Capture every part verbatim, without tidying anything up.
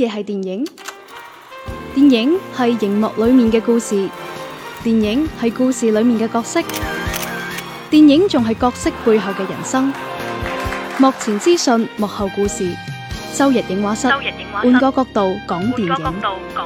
嘢係電影？電影係熒幕裡面嘅故事，電影係故事裡面嘅角色，電影仲係角色背後嘅人生。幕前資訊，幕後故事。周日映畫室，換個角度講電影。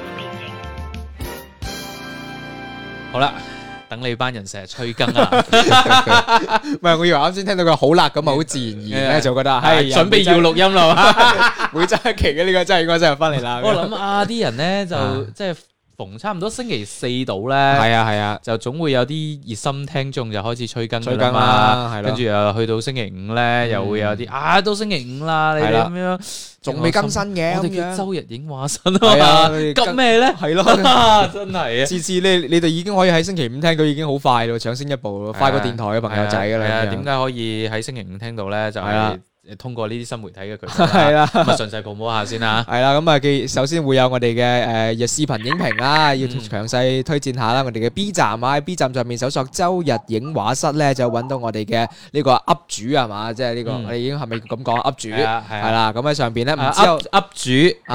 好啦，等你班人成日催更啊！ 唔係，我以為啱先聽到佢好辣咁啊，好自然而然咧，就覺得係準備要錄音啦。 每週一期嘅呢個真係應該真係翻嚟啦。 我諗啊，啲人咧就即係逢差唔多星期四到咧， 係啊係啊， 就總會有啲熱心聽眾就開始催更催更啦，係咯。 跟住又去到星期五咧，又會有啲啊，都星期五啦，你哋咁樣。 仲未更新嘅， 我哋叫周日映畫室啊嘛，急咩咧？ 係咯， 真係啊！ 次次你你哋已經可以喺星期五聽到，已經好快咯，搶先一步咯，快過電台嘅朋友仔噶啦。 點解可以喺星期五聽到咧？就係通過呢啲新媒體嘅渠道。 係啦， 咁啊順勢 promote下先啦。 係啦，咁啊，既首先會有我哋嘅誒視頻影評啦，要詳細推薦下啦。我哋嘅 B 站啊，喺 B 站上面搜索周日映畫室咧，就揾到我哋嘅呢個 up 主係嘛，即係呢個我哋已經係咪咁講 up 主？係啦，咁喺上邊咧，唔知有 up 主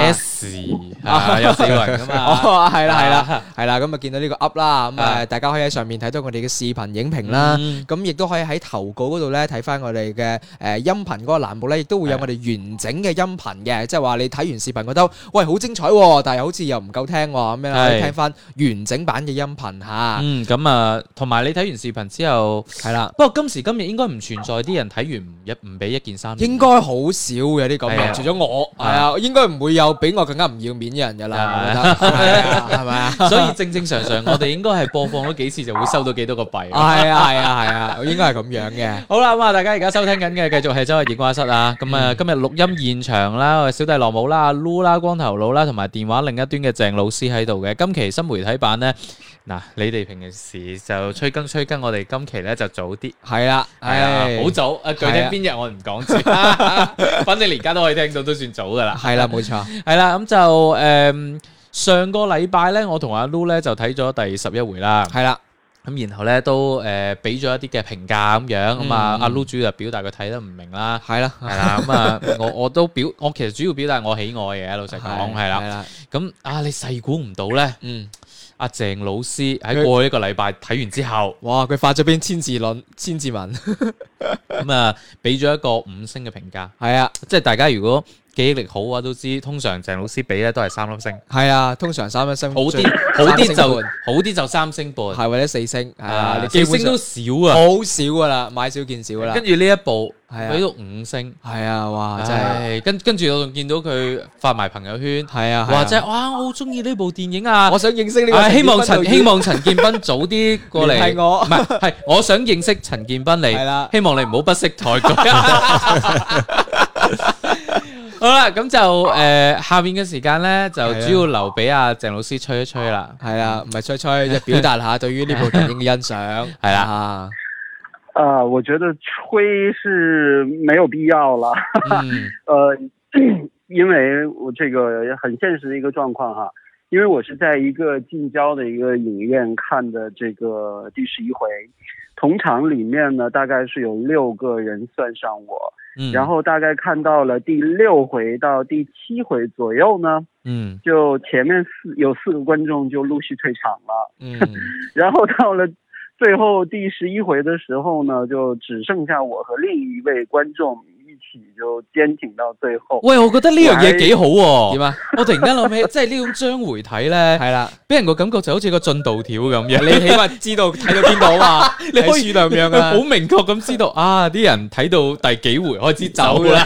S 啊，有四個人噶嘛？ 哦，係啦係啦係啦，咁啊見到呢個 up 啦，咁啊大家可以喺上面睇到我哋嘅視頻影評啦，咁亦都可以喺投稿嗰度咧睇翻我哋嘅誒音頻嗰個欄目咧，亦都會有我哋完整嘅音頻嘅，即係話你睇完視頻覺得喂好精彩，但係好似又唔夠聽咁樣，可以聽翻完整版嘅音頻吓。 嗯，咁啊，同埋你睇完視頻之後係啦，不過今時今日應該唔存在啲人睇完唔一唔俾一件衫， 應該好少有啲咁嘅，除咗我係啊，應該唔會有比我更加唔要面嘅人噶啦，我覺得係咪啊？ 所以正正常常我哋應該係播放咗幾次就會收到幾多個幣。 係啊係啊係啊，應該係咁樣嘅。 好啦，咁啊，大家而家收聽緊嘅繼續係周日映畫室啊。咁啊，今日錄音現場啦，小弟羅姆啦、阿 Lu 啦、光頭佬啦，同埋電話另一端嘅鄭老師喺度嘅。今期新媒體版咧，嗱，你哋平時就催更催更，我哋今期咧就早啲。 係啦，係啊， 好早。啊，具體邊日我唔講住，反正而家都可以聽到，都算早噶啦。 係啦，冇錯。 係啦，咁就誒，上個禮拜咧，我同阿 Lu 咧就睇咗第十一回啦。 係啦。 咁然後咧都誒俾咗一啲嘅評價咁樣，咁啊阿 Lu 主要就表達佢睇得唔明啦， 係啦， 係啦，咁啊我我都表，我其實主要表達我喜愛嘅，老實講係啦，咁啊你細估唔到咧，嗯，阿鄭老師喺過去一個禮拜睇完之後， 哇佢發咗篇千字論千字文， 咁啊俾咗一個五星嘅評價， 係啊， 即係大家如果記憶力好啊，都知通常鄭老師俾咧都係三粒星， 係啊，通常三粒星， 好啲好啲就好啲就三星半， 係或者四星，係啊， 四星都少啊， 好少噶啦，買少見少噶啦。 跟住呢一部俾到五星， 係啊，哇，真係， 跟跟住我仲見到佢發埋朋友圈， 係啊， 話即係哇，我好中意呢部電影啊， 我想認識呢個， 希望陳希望陳建斌早啲過嚟， 係我， 唔係係我想認識陳建斌嚟， 係啦， 希望你唔好不識抬舉。好啦，咁就誒下面嘅時間咧，就主要留俾阿鄭老師吹一吹啦。 係啦，唔係吹吹，就表達下對於呢部電影嘅欣賞。係啦， 啊，我覺得吹是沒有必要了。嗯，呃，因為我這個很現實的一個狀況哈，因為我是在一個近郊的一個影院看的這個第十一回，同場裡面呢大概是有六個人算上我。嗯，然後大概看到了第六回到第七回左右呢，嗯，就前面四有四個觀眾就陸續退場了，嗯，然後到了最後第十一回的時候呢，就只剩下我和另一位觀眾一起就堅挺到最後。 喂，我覺得呢樣嘢幾好喎，點啊？我突然間諗起，即係呢種章回體咧，係啦，俾人個感覺就好似個進度條咁樣，你起碼知道睇到邊度啊，你可以咁樣啊，好明確咁知道啊，啲人睇到第幾回開始走啦。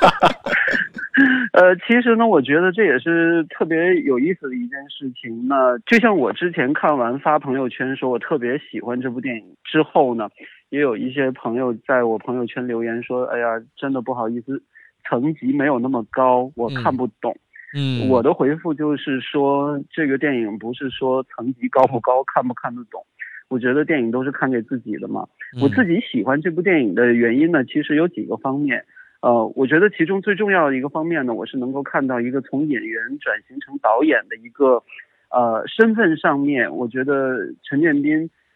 呃，其實呢，我覺得這也是特別有意思的一件事情呢。就像我之前看完發朋友圈說我特別喜歡這部電影之後呢，也有一些朋友在我朋友圈留言說，哎呀，真的不好意思，層級沒有那麼高，我看不懂。嗯，嗯我的回復就是說，這個電影不是說層級高不高，看不看得懂。我覺得電影都是看給自己的嘛。嗯、我自己喜歡這部電影的原因呢，其實有幾個方面。呃，我覺得其中最重要的一個方面呢，我是能夠看到一個從演員轉型成導演的一個呃身份上面，我覺得陳建斌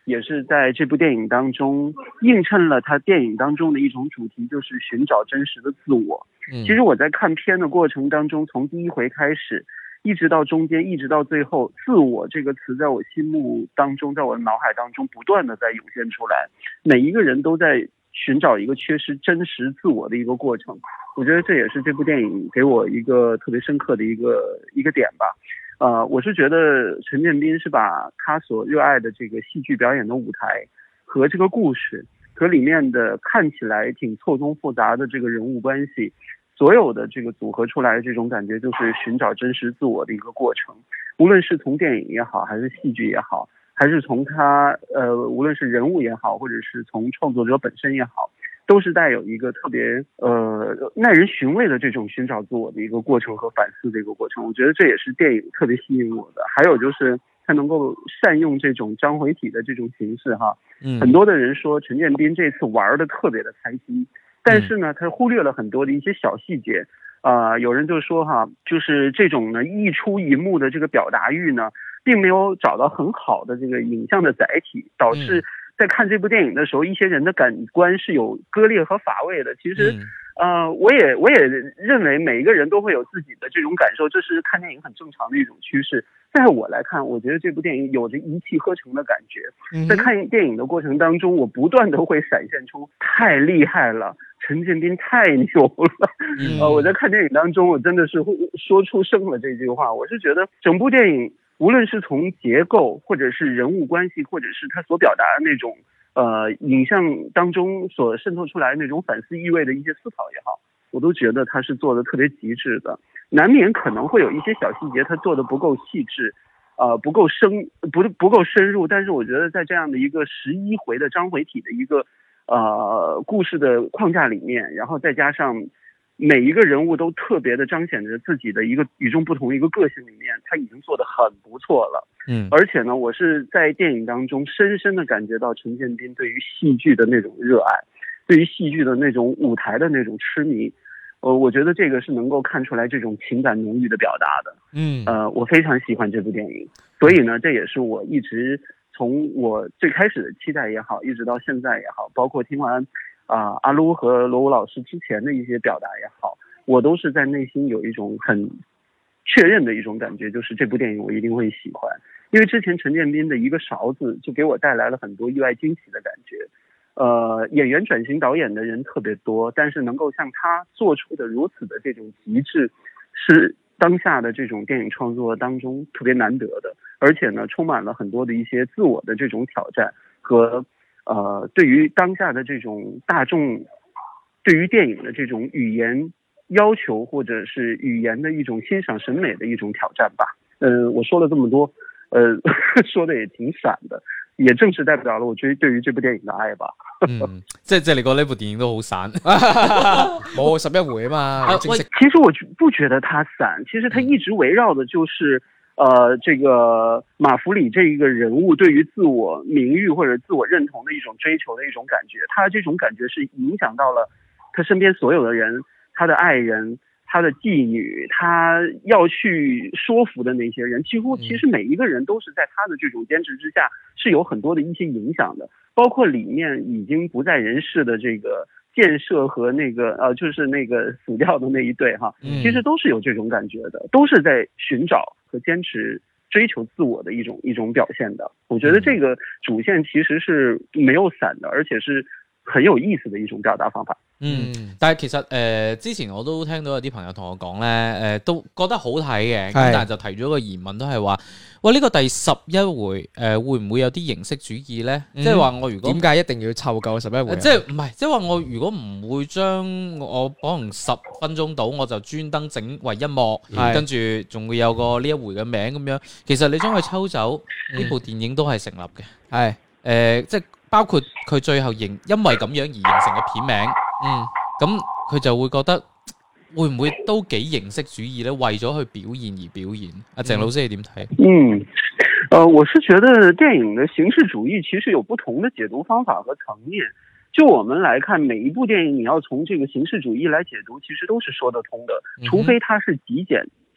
也是在这部电影当中映衬了他电影当中的一种主题，就是寻找真实的自我。其实我在看片的过程当中，从第一回开始一直到中间一直到最后，自我这个词在我心目当中，在我的脑海当中不断的在涌现出来，每一个人都在寻找一个缺失真实自我的一个过程。我觉得这也是这部电影给我一个特别深刻的一个一个点吧。呃，我是觉得陈建斌是把他所热爱的这个戏剧表演的舞台和这个故事和里面的看起来挺错综复杂的这个人物关系，所有的这个组合出来的这种感觉，就是寻找真实自我的一个过程。无论是从电影也好，还是戏剧也好，还是从他呃，无论是人物也好，或者是从创作者本身也好，都是带有一个特别呃耐人寻味的这种寻找自我的一个过程和反思的一个过程。我觉得这也是电影特别吸引我的。还有就是他能够善用这种章回体的这种形式哈，嗯，很多的人说陈建斌这次玩的特别的开心，但是呢，他忽略了很多的一些小细节。啊、呃，有人就说哈，就是这种呢一出一幕的这个表达欲呢，并没有找到很好的这个影像的载体，导致在看这部电影的时候，一些人的感官是有割裂和乏味的。其实，呃，我也我也认为每一个人都会有自己的这种感受，这是看电影很正常的一种趋势。在我来看，我觉得这部电影有着一气呵成的感觉。在看电影的过程当中，我不断的会闪现出太厉害了。陈建斌太牛了，呃，我在看电影当中，我真的是会说出声了这句话。我是觉得整部电影，无论是从结构，或者是人物关系，或者是他所表达的那种呃影像当中所渗透出来的那种反思意味的一些思考也好，我都觉得他是做的特别极致的。难免可能会有一些小细节他做的不够细致，呃，不够深，不不够深入。但是我觉得在这样的一个十一回的章回体的一个呃，故事的框架里面，然后再加上每一个人物都特别的彰显着自己的一个与众不同的一个个性里面，他已经做得很不错了。嗯，而且呢，我是在电影当中深深的感觉到陈建斌对于戏剧的那种热爱，对于戏剧的那种舞台的那种痴迷。呃，我觉得这个是能够看出来这种情感浓郁的表达的。嗯，呃，我非常喜欢这部电影，所以呢，这也是我一直从我最开始的期待也好，一直到现在也好，包括听完啊、呃、阿撸和罗武老师之前的一些表达也好，我都是在内心有一种很确认的一种感觉，就是这部电影我一定会喜欢。因为之前陈建斌的一个勺子就给我带来了很多意外惊喜的感觉。呃，演员转型导演的人特别多，但是能够像他做出的如此的这种极致，是当下的这种电影创作当中特别难得的。而且呢，充满了很多的一些自我的这种挑战和呃，对于当下的这种大众对于电影的这种语言要求或者是语言的一种欣赏审美的一种挑战吧。呃，我说了这么多，呃，说的也挺闪的，也正是代表了我对对于这部电影的愛吧。 嗯，即係即係你覺得呢部電影都好散， 冇十一回啊嘛。 其實我不覺得它散，其實它一直圍繞的就是呃，這個馬福里這一個人物對於自我名譽或者自我認同的一種追求的一種感覺，他這種感覺是影響到了他身邊所有的人，他的愛人，他的妓女，他要去說服的那些人，幾乎其實每一個人都是在他的這種堅持之下是有很多的一些影響的，包括裡面已經不在人世的這個建設和那個呃，就是那個死掉的那一對哈，其實都是有這種感覺的，都是在尋找和堅持追求自我的一種一種表現的。我覺得這個主線其實是沒有散的，而且是很有意思的一種表達方法。 嗯，但係其實誒、呃、之前我都聽到有啲朋友同我講咧，誒、呃、都覺得好睇嘅，咁但係就提咗個疑問，都係話，喂呢、這個第十一回誒、呃、會唔會有啲形式主義咧？即係話我如果點解一定要湊夠十一回？即係唔係？即係話我如果唔會將我可能十分鐘到，我就專登整為一幕，跟住仲會有個呢一回嘅名咁樣。其實你將佢抽走，呢、嗯、部電影都係成立嘅。係誒、呃，即係包括佢最後形因為咁樣而形成嘅片名。嗯，咁佢就會覺得會唔會都幾形式主義咧？為咗去表現而表現。阿鄭老師你點睇？ 嗯，呃，我是覺得電影的形式主義其實有不同的解讀方法和層面。就我們來看，每一部電影你要從這個形式主義來解讀，其實都是說得通的，除非它是極簡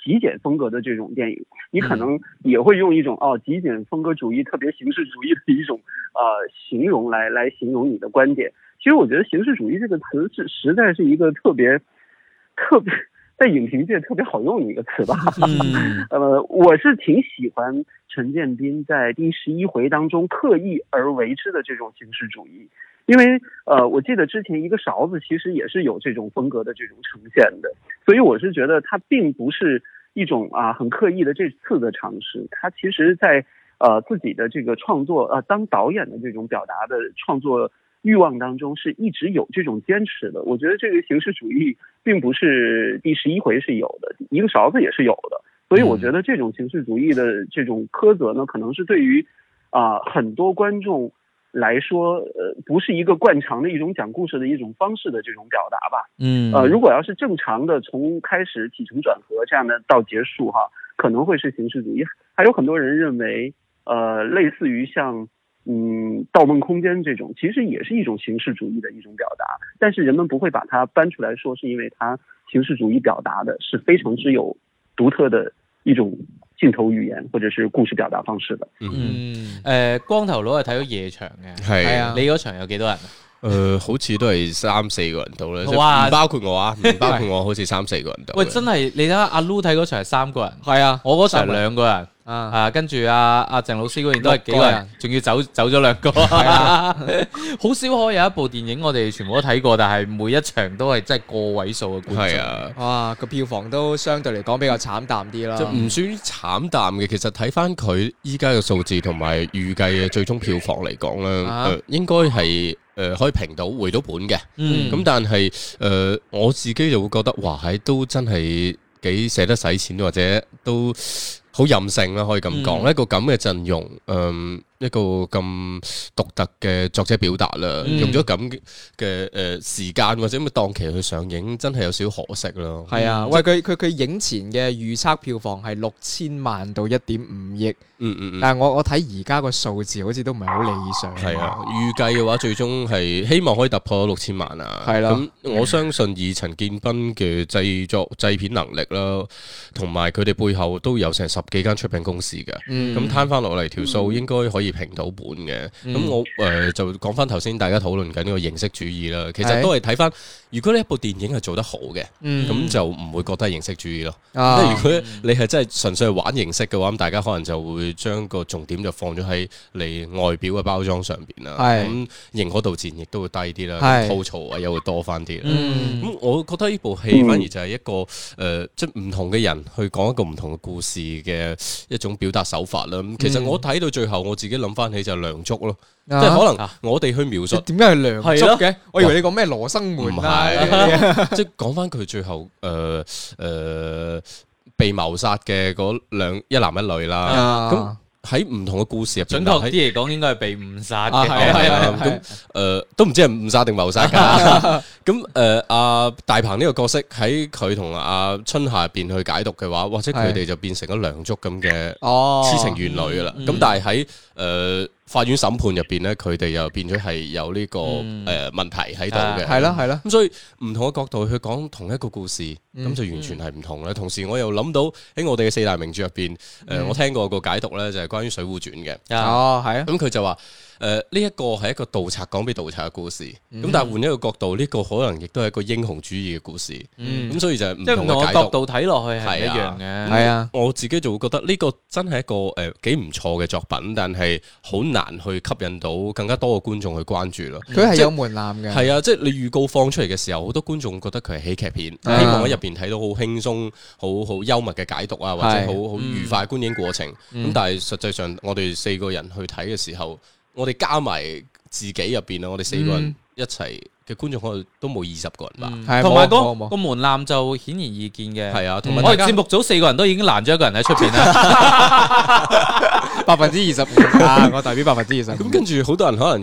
极简风格的这种电影，你可能也会用一种哦极简风格主义、特别形式主义的一种呃形容来来形容你的观点。其实我觉得形式主义这个词是实在是一个特别特别在影评界特别好用的一个词吧。嗯，呃，我是挺喜欢陈建斌在第十一回当中刻意而为之的这种形式主义。因为呃，我记得之前一个勺子其实也是有这种风格的这种呈现的，所以我是觉得它并不是一种啊很刻意的这次的尝试，它其实在呃自己的这个创作呃当导演的这种表达的创作欲望当中是一直有这种坚持的。我觉得这个形式主义并不是第十一回是有的，一个勺子也是有的，所以我觉得这种形式主义的这种苛责呢，可能是对于啊、呃、很多观众来说，呃，不是一个惯常的一种讲故事的一种方式的这种表达吧。嗯，呃，如果要是正常的从开始起承转合这样的到结束哈，可能会是形式主义。还有很多人认为，呃，类似于像嗯《盗梦空间》这种，其实也是一种形式主义的一种表达，但是人们不会把它搬出来说，是因为它形式主義表達的是非常之有獨特的一種鏡頭語言或者是故事表達方式的。 嗯，誒光頭佬係睇咗夜場嘅， 係啊， 你嗰場有幾多人啊？ 誒、呃，好似都係三四個人到啦，唔包括我啊，唔包括我，好似三四個人到。 喂，真係你睇下阿 Lu 睇嗰場係三個人， 係啊， 我嗰場兩個人。啊，啊，跟住阿阿鄭老師嗰邊都係幾個人，仲要走走咗兩個，好少可有一部電影我哋全部都睇過，但係每一場都係真係個位數嘅觀眾。 係啊， 哇，個票房都相對嚟講比較慘淡啲啦。 就唔算慘淡嘅，其實睇翻佢依家嘅數字同埋預計嘅最終票房嚟講咧， 啊呃、應該係。誒、呃、可以平到回到本嘅，咁、嗯、但係誒、呃、我自己就會覺得，哇係都真係幾捨得使錢，或者都好任性啦，可以咁講、嗯、一個咁嘅陣容，嗯、一個咁獨特嘅作者表達啦，嗯、用咗咁嘅誒時間或者咁嘅檔期去上映，真係有少可惜咯。 係啊，喂佢佢佢影前嘅預測票房係六千萬到一點五億。 嗯嗯嗯， 但係我我睇而家個數字好似都唔係好理想。 係啊，預計嘅話最終係希望可以突破六千萬啊。 係啦， 咁我相信以陳建斌嘅製作製片能力啦，同埋佢哋背後都有成十幾間出品公司嘅。咁攤翻落嚟條數應該可以平到本嘅。咁、嗯、我誒、呃、就講翻頭先大家討論緊呢個形式主義啦。其實都係睇翻，如果呢一部電影係做得好嘅，咁、嗯、就唔會覺得係形式主義咯。即、啊、係如果你係真係純粹係玩形式嘅話，咁大家可能就會將個重點就放咗喺你外表嘅包裝上邊啦，咁認可度自然亦都會低啲啦，吐槽啊又會多翻啲啦。咁、嗯、我覺得呢部戲反而就係一個誒、呃，即係唔同嘅人去講一個唔同嘅故事嘅一種表達手法啦。咁其實我睇到最後，我自己諗翻起就係梁祝咯，啊、即係可能我哋去描述點解係梁祝嘅？我以為你講咩羅生門啊， 即係講翻佢最後誒誒。呃呃被謀殺嘅嗰兩一男一女啦，咁喺唔同嘅故事入邊，準確啲嚟講應該係被誤殺嘅， 係啊，咁誒都唔知係誤殺定謀殺㗎。咁誒阿大鵬呢個角色喺佢同阿春夏入邊去解讀嘅話，或者佢哋就變成咗梁祝咁嘅痴情怨女㗎啦。咁但係喺誒法院審判入邊咧，佢哋又變咗係有呢個誒問題喺度嘅， 係啦係啦。 咁所以唔同嘅角度去講同一個故事，咁就完全係唔同啦。同時我又諗到喺我哋嘅四大名著入邊，誒我聽過個解讀咧，就係關於《水滸傳》嘅。 哦，係啊。 咁佢就話。誒呢一個係一個盜賊講俾盜賊嘅故事，咁、嗯、但係換一個角度，呢、這個可能亦都係一個英雄主義嘅故事，咁、嗯、所以就係唔同嘅角度睇落去係一樣嘅。 係啊， 我自己就會覺得呢個真係一個誒幾唔錯嘅作品，但係好難去吸引到更加多嘅觀眾去關注咯。 佢係有門檻嘅。係啊，即係你預告放出嚟嘅時候，好多觀眾覺得佢係喜劇片，啊、希望喺入邊睇到好輕鬆、好好幽默嘅解讀啊，或者好好愉快觀影過程。咁、嗯、但係實際上我哋四個人去睇嘅時候，我哋加埋自己入邊啊，我哋四個人一齊嘅觀眾可能都冇二十個人吧， 同埋個個門檻就顯而易見嘅。 係啊，同埋我哋節目組四個人都已經攔咗一個人喺出邊啦， 百分之二十五啊，我代表百分之二十五。 咁跟住好多人可能就係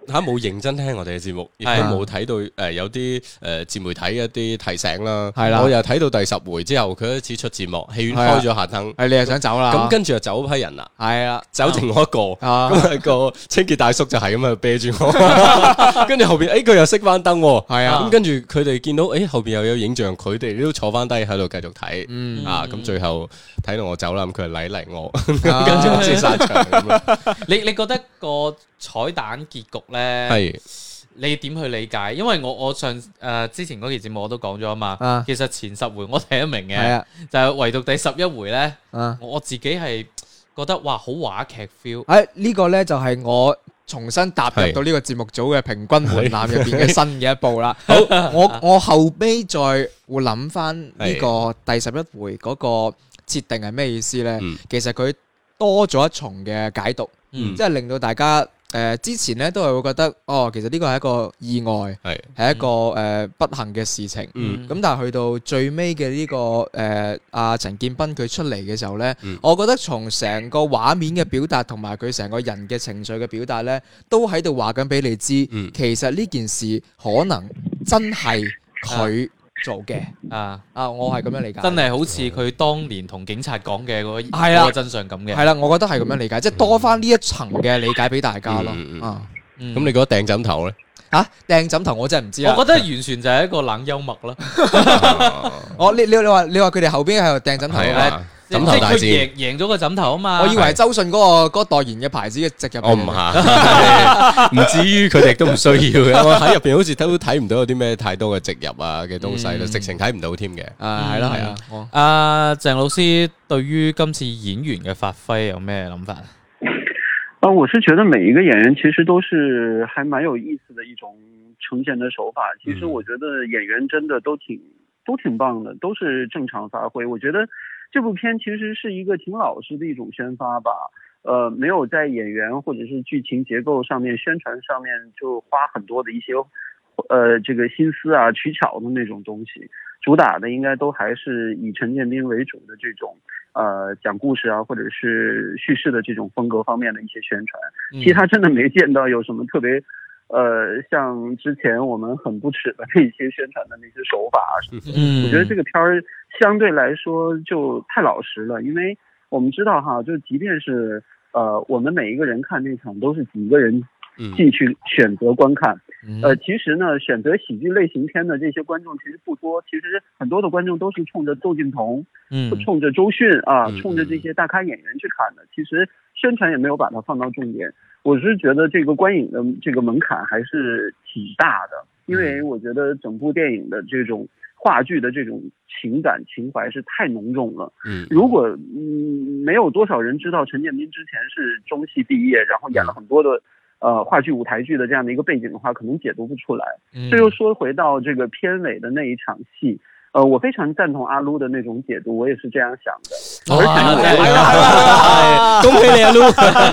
嚇冇認真聽我哋嘅節目，亦都冇睇到誒有啲誒自媒體一啲提醒啦。係啦，我又睇到第十回之後，佢開始出字幕，戲院開咗下燈， 係你又想走啦？ 咁跟住就走批人啦。係啊，走剩我一個，咁啊個清潔大叔就係咁啊啤住我，跟住後邊誒佢又熄翻燈，係啊，咁跟住佢哋見到誒後邊又有影像，佢哋都坐翻低喺度繼續睇，啊咁最後睇到我走啦，咁佢係禮嚟我，跟住我先散場咁咯。 你你覺得個彩蛋結局咧，係你點去理解？因為我我上誒、呃、之前嗰期節目我都講咗啊嘛，啊其實前十回我睇得明嘅，啊、就係唯獨第十一回咧，啊、我自己係覺得哇好話劇 feel。 誒呢個咧就係我重新踏入到呢個節目組嘅平均門檻入邊嘅新嘅一步啦。好，我我後尾再會諗翻呢個第十一回嗰個設定係咩意思咧？嗯、其實佢多咗一重嘅解讀。嗯、即係令到大家誒、呃、之前咧都係會覺得哦，其實呢個係一個意外，係係一個誒、呃、不幸嘅事情。咁、嗯、但係去到最尾嘅呢個誒阿陳建斌佢出嚟嘅時候咧，嗯、我覺得從成個畫面嘅表達同埋佢成個人嘅情緒嘅表達咧，都喺度話緊俾你知，嗯、其實呢件事可能真係佢做嘅啊啊！我係咁樣理解， 真係好似佢當年同警察講嘅嗰嗰個真相咁嘅。 係啦，我覺得係咁樣理解，即係多翻呢一層嘅理解俾大家咯。啊， 咁你覺得掟枕頭咧？ 嚇，掟枕頭我真係唔知啊！ 我覺得完全就係一個冷幽默啦。 我你你你話你話佢哋後邊喺度掟枕頭咧？ 枕頭大戰，即係佢贏贏咗個枕頭啊嘛！ 我以為係周迅嗰個嗰代言嘅牌子嘅植入。 我唔係，唔至於佢哋都唔需要嘅。我喺入邊好似都睇唔到有啲咩太多嘅植入啊嘅東西啦，直情睇唔到添嘅。 啊，係咯係啊。 阿鄭老師對於今次演員嘅發揮有咩諗法？ 呃，我是覺得每一個演員其實都是還蠻有意思的一種呈現的手法。其實我覺得演員真的都挺都挺棒的，都是正常發揮。我覺得這部片其實是一個挺老實的一種宣發吧，呃，沒有在演員或者是劇情結構上面、宣傳上面就花很多的一些，呃，這個心思啊、取巧的那種東西，主打的應該都還是以陳建斌為主的這種，呃，講故事啊或者是敘事的這種風格方面的一些宣傳。其他真的沒見到有什麼特別。呃，像之前我們很不齒的那些宣傳的那些手法啊什麼的，嗯，我覺得這個片兒相對來說就太老實了，因為我們知道哈，就即便是呃我們每一個人看那場都是幾個人進去選擇觀看，嗯、呃，其實呢選擇喜劇類型片的這些觀眾其實不多，其實很多的觀眾都是衝着竇靖童，嗯，衝着周迅啊，嗯、衝着這些大咖演員去看的，其實宣傳也沒有把它放到重點。我是覺得這個觀影的這個門檻還是挺大的，因為我覺得整部電影的這種話劇的這種情感情懷是太濃重了。嗯，如果嗯沒有多少人知道陳建斌之前是中戲畢業，然後演了很多的呃話劇舞台劇的這樣的一個背景的話，可能解讀不出來。這又說回到這個片尾的那一場戲。呃，我非常贊同阿盧的那種解讀，我也是這樣想的。而且， 恭喜你阿盧。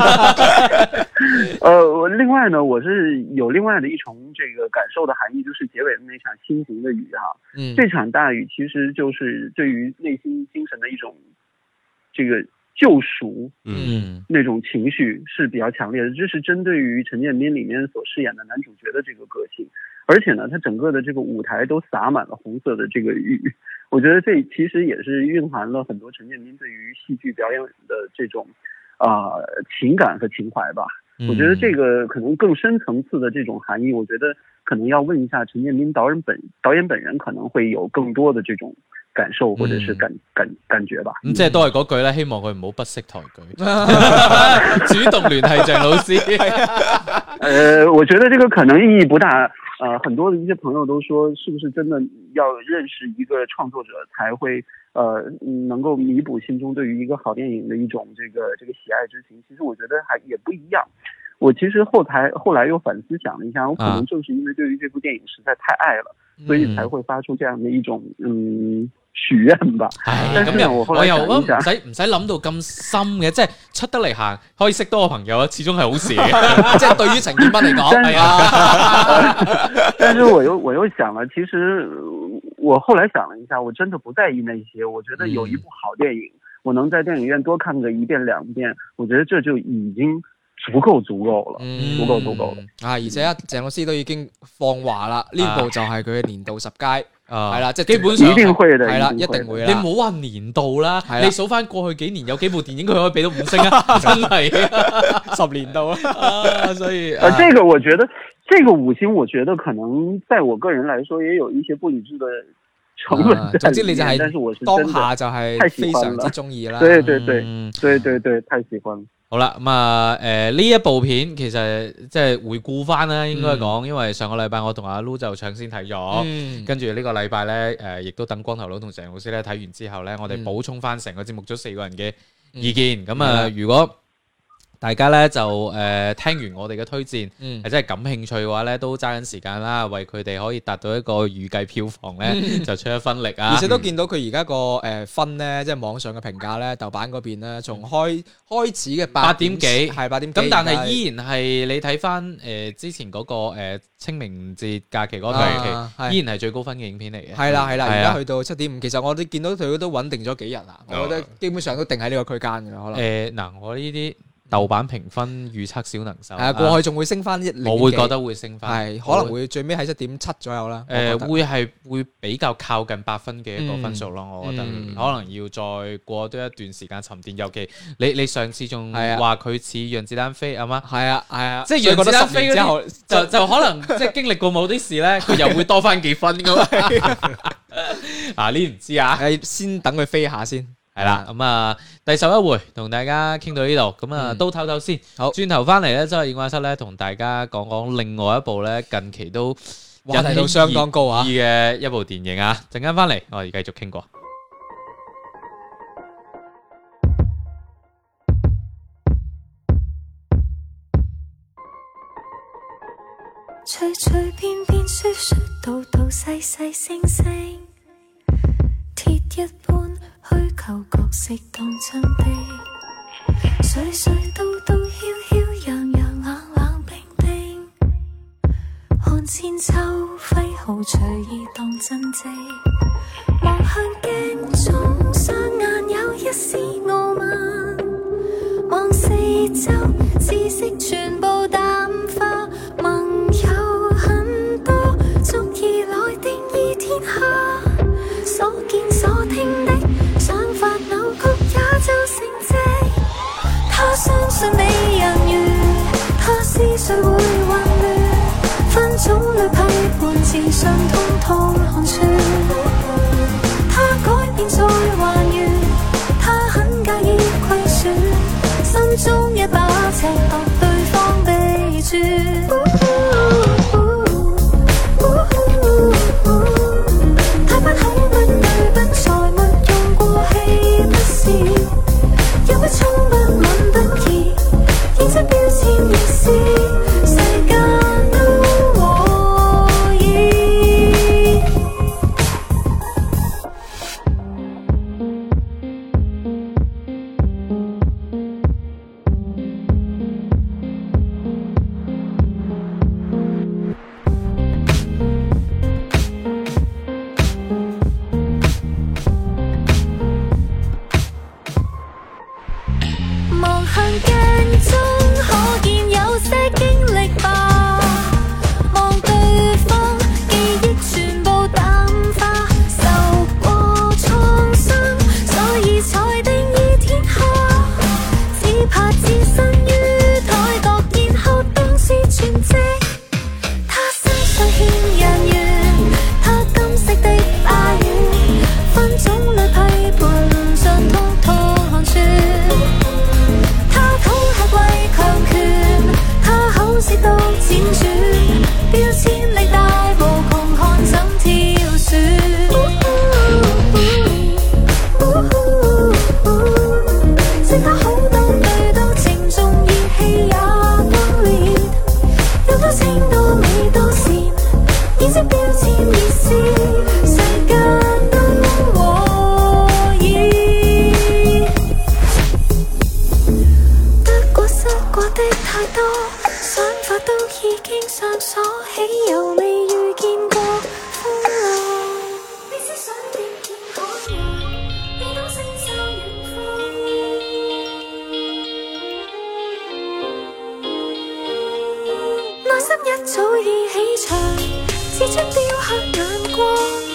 呃，另外呢，我是有另外的一重這個感受的含義，就是結尾的那場心情的雨哈。嗯，這場大雨其實就是對於內心精神的一種這個救贖，嗯，那種情緒是比較強烈的。這是針對於陳建斌裏面所飾演的男主角的這個個性。而且呢，它整個的這個舞台都灑滿了紅色的這個雨，我覺得這其實也是蘊含了很多陳建斌對於戲劇表演的這種啊、呃、情感和情懷吧。我覺得這個可能更深層次的這種含義，我覺得可能要問一下陳建斌導演本導演本人可能會有更多的這種感受或者是感、嗯、感感覺吧。 咁即係都係嗰句咧，希望佢唔好不識抬舉，主動聯繫鄭老師。 呃，我覺得這個可能意義不大。呃，很多的一些朋友都說，是不是真的要認識一個創作者才會，呃，能夠彌補心中對於一個好電影的一種這個這個喜愛之情？其實我覺得還也不一樣。我其實後台後來又反思想了一下，我可能正是因為對於這部電影實在太愛了，啊、所以才會發出這樣的一種嗯許願吧。 係咁又我又唔使唔使諗到咁深嘅，即係出得嚟行可以識多個朋友啊，始終係好事嘅。即係對於陳建斌嚟講，係啊。 但是我又我又想了，其實我後來想了一下，我真的不在意那些。我覺得有一部好電影，嗯、我能在電影院多看個一遍兩遍，我覺得這就已經足夠足夠了， 嗯足夠足夠了啊！而且鄭老師都已經放話啦，呢部就係佢嘅年度十佳， 啊係啦，即係基本上一定會的， 係啦， 一定會的一定會啦。 你唔好話年度啦， 係啦你數翻過去幾年有幾部電影佢可以俾到五星啊，真係啊十年度啊！ 啊，所以呃，這個我覺得，這個五星，我覺得可能在我個人來說，也有一些不理智的成分啊在總之你就裡面，但是我係是真的當下就係太喜非常之歡了， 中意啦。 對對對嗯對對對，太喜歡了。 好啦，咁啊，誒呢一部片其實即係回顧翻啦，應該講，因為上個禮拜我同阿 Lu 就搶先睇咗， 嗯跟住呢個禮拜咧，誒亦都等光頭佬同鄭老師咧睇完之後咧，我哋嗯補充翻成個節目組四個人嘅意見。咁係啊， 啦如果大家咧就誒聽完我哋嘅推薦， 嗯係真係感興趣嘅話咧，都揸緊時間啦，為佢哋可以達到一個預計票房咧，就出一分力啊！ 而且都見到佢而家個誒分咧，即係網上嘅評價咧，豆瓣嗰邊咧，從開開始嘅八點幾係八點幾， 咁但係而家依然係你睇翻誒之前嗰個誒清明節假期嗰個啊期， 係依然係最高分嘅影片嚟嘅。 係啦係啦， 係啊而家去到七點五，其實我哋見到佢都穩定咗幾日啦，我覺得基本上都定喺呢個區間嘅啦，可能誒嗱，我呢啲豆瓣評分預測小能手， 係啊，過去仲會升翻一零， 我會覺得會升翻， 係可能會最尾喺七點七左右啦。 誒我覺得會係會比較靠近八分嘅一個分數咯，我覺得嗯可能要再過多一段時間沉澱，尤其你你上次仲係啊話佢似讓子彈飛係嘛？ 係啊係啊， 即係所以覺得讓子彈十年之後飛嗰啲就就可能即係經歷過某啲事咧，佢又會多翻幾分噶嘛。啊呢唔知啊。 誒先等佢飛下先。 係啦，咁啊，第十一回同大家傾到呢度，咁啊嗯都唞唞先。 好轉頭翻嚟咧，周日映畫室咧，同大家講講另外一部咧，近期都話題度相當高啊引起熱議嘅一部電影啊！陣間翻嚟，我哋繼續傾過。 隨隨便便說說道道細細聲聲，鐵一般虛構角色當真的，歲歲道道囂囂樣樣冷冷冰冰，看千秋揮毫隨意當真跡，望向鏡中雙眼有一絲傲慢，望四周知識全部淡化，盟友很多足以來定義天下，所見所聽的想法扭曲也就成績，他相信美人魚，他思緒會混亂，分種類批判自信通通看穿，他改變再還原，他很介意虧損，心中一把尺度對方備註，他不口不對不才沒用過氣不是，又不衝不吻不疑，認真標籤亦是世間都和意。望向鏡中，可見有些經歷吧。望對方，記憶全部淡化，受過創傷，所以才定義天下。只怕置身於台獨，然後當是全職。他身上欠人緣，他金色的花園，分種類批判盡通通看穿。他討吃為強權，他口舌都輾轉，標籤力大無窮，看怎挑選。識得好多對到情重義氣也崩裂，有多情多美多善，認識標籤意思，世間都和意。得過失過的太多，想法都已經上鎖，豈有未遇見過風浪？你思想定見海洋，你懂星洲遠方。 一早已起場，只出雕刻眼光。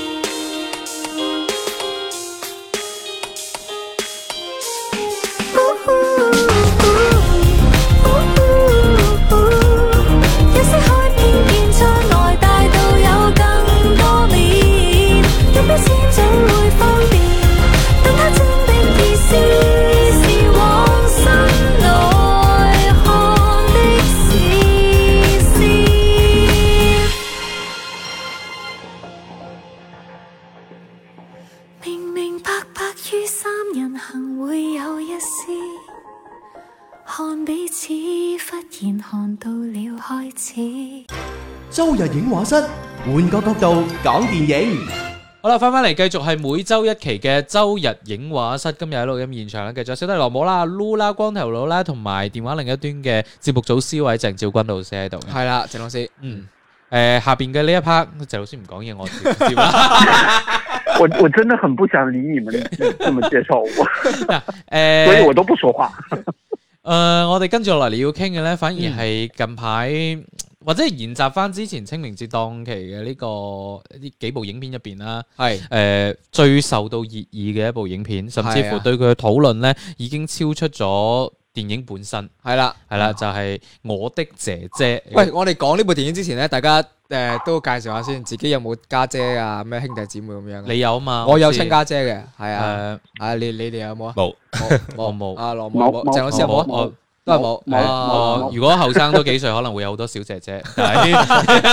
有些開偏見將愛帶到有更多面，一標籤總會方便，但它真的意思是往心內看的視線。明明白白於三人行會有一絲，看彼此忽然看到了開始。 周日影畫室，換個角度講電影。 好啦，翻翻嚟繼續係每周一期嘅周日影畫室。今日喺錄音現場咧，繼續小弟羅姆啦、Lu 啦、光頭佬啦，同埋電話另一端嘅節目組 C 位鄭兆君老師喺度嘅。 係啦，鄭老師， 嗯，誒下邊嘅呢一 part，鄭老師唔講嘢，我直接啦。 我我真的很不想理你們這麼介紹我， 誒， 所以我都不說話。 誒、呃，我哋跟住落嚟要傾嘅咧，反而係近排、嗯、或者係延續翻之前清明節檔期嘅呢、這個呢幾部影片入邊啦，係誒、呃、最受到熱議嘅一部影片，甚至乎對佢嘅討論咧已經超出咗電影本身。係啦，係啦，就係、是、我的姐姐。 喂，我哋講呢部電影之前咧，大家誒、呃、都介紹下先，自己有冇家姐啊？咩兄弟姊妹咁樣？ 你有嘛？ 我有親家姐嘅，係啊， 誒、 啊你你哋有冇啊？ 冇， 我冇。 阿羅冇，鄭老師有冇啊？ 我都係冇。 哦，如果後生多幾歲，可能會有好多小姐姐，但係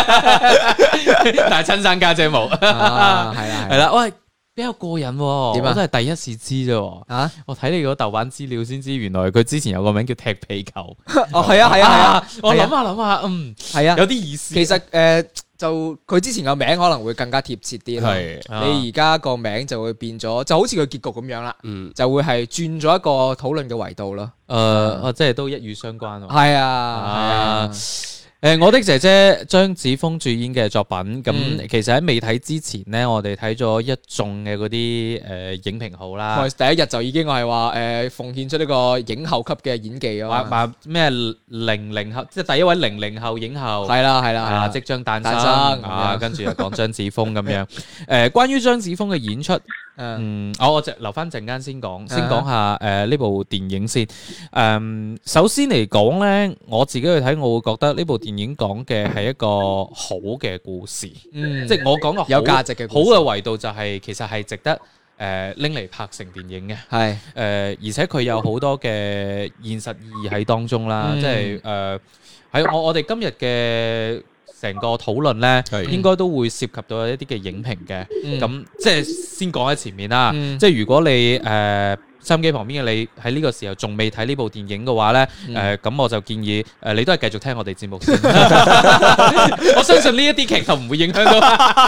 但係親生家姐冇。係啦係啦，喂。比較過癮喎， 點啊？ 我都係第一次知啫。啊！我睇你嗰豆瓣資料先知，原來佢之前有個名叫踢皮球。 哦，係啊，係啊，係啊！ 我諗下諗下，嗯，係啊，有啲意思。 其實誒，就佢之前個名可能會更加貼切啲咯。 係， 你而家個名就會變咗，就好似佢結局咁樣啦。嗯，就會係轉咗一個討論嘅維度咯。 誒，即係都一語相關喎。 係啊，係啊。 誒，我的姐姐張子楓主演嘅作品，咁、嗯、其實喺未睇之前呢，我哋睇咗一眾嘅嗰啲誒影評號啦。 第一日就已經係話誒奉獻出呢個影后級嘅演技啊！ 話話咩零零後，即係第一位零零後影后。 係啦係啦係啦， 即將誕生啊！跟住又講張子楓咁樣。誒、呃，關於張子楓嘅演出。嗯，我我就留翻陣間先講，先講下誒呢部電影先。誒、嗯，首先嚟講咧，我自己去睇，我會覺得呢部電影講嘅係一個好嘅故事，嗯，即係我講嘅有價值嘅好嘅維度就係、是、其實係值得誒拎嚟拍成電影嘅，係誒、呃，而且佢有好多嘅現實意義喺當中啦，嗯、即係誒喺我我哋今日嘅。成個討論咧，應該都會涉及到一啲嘅影評嘅。咁、嗯、即係先講喺前面啦。嗯、即係如果你誒收音機旁邊嘅你喺呢個時候仲未睇呢部電影嘅話咧，誒咁、嗯呃、我就建議誒、呃、你都係繼續聽我哋節目先。我相信呢一啲劇就唔會影響到。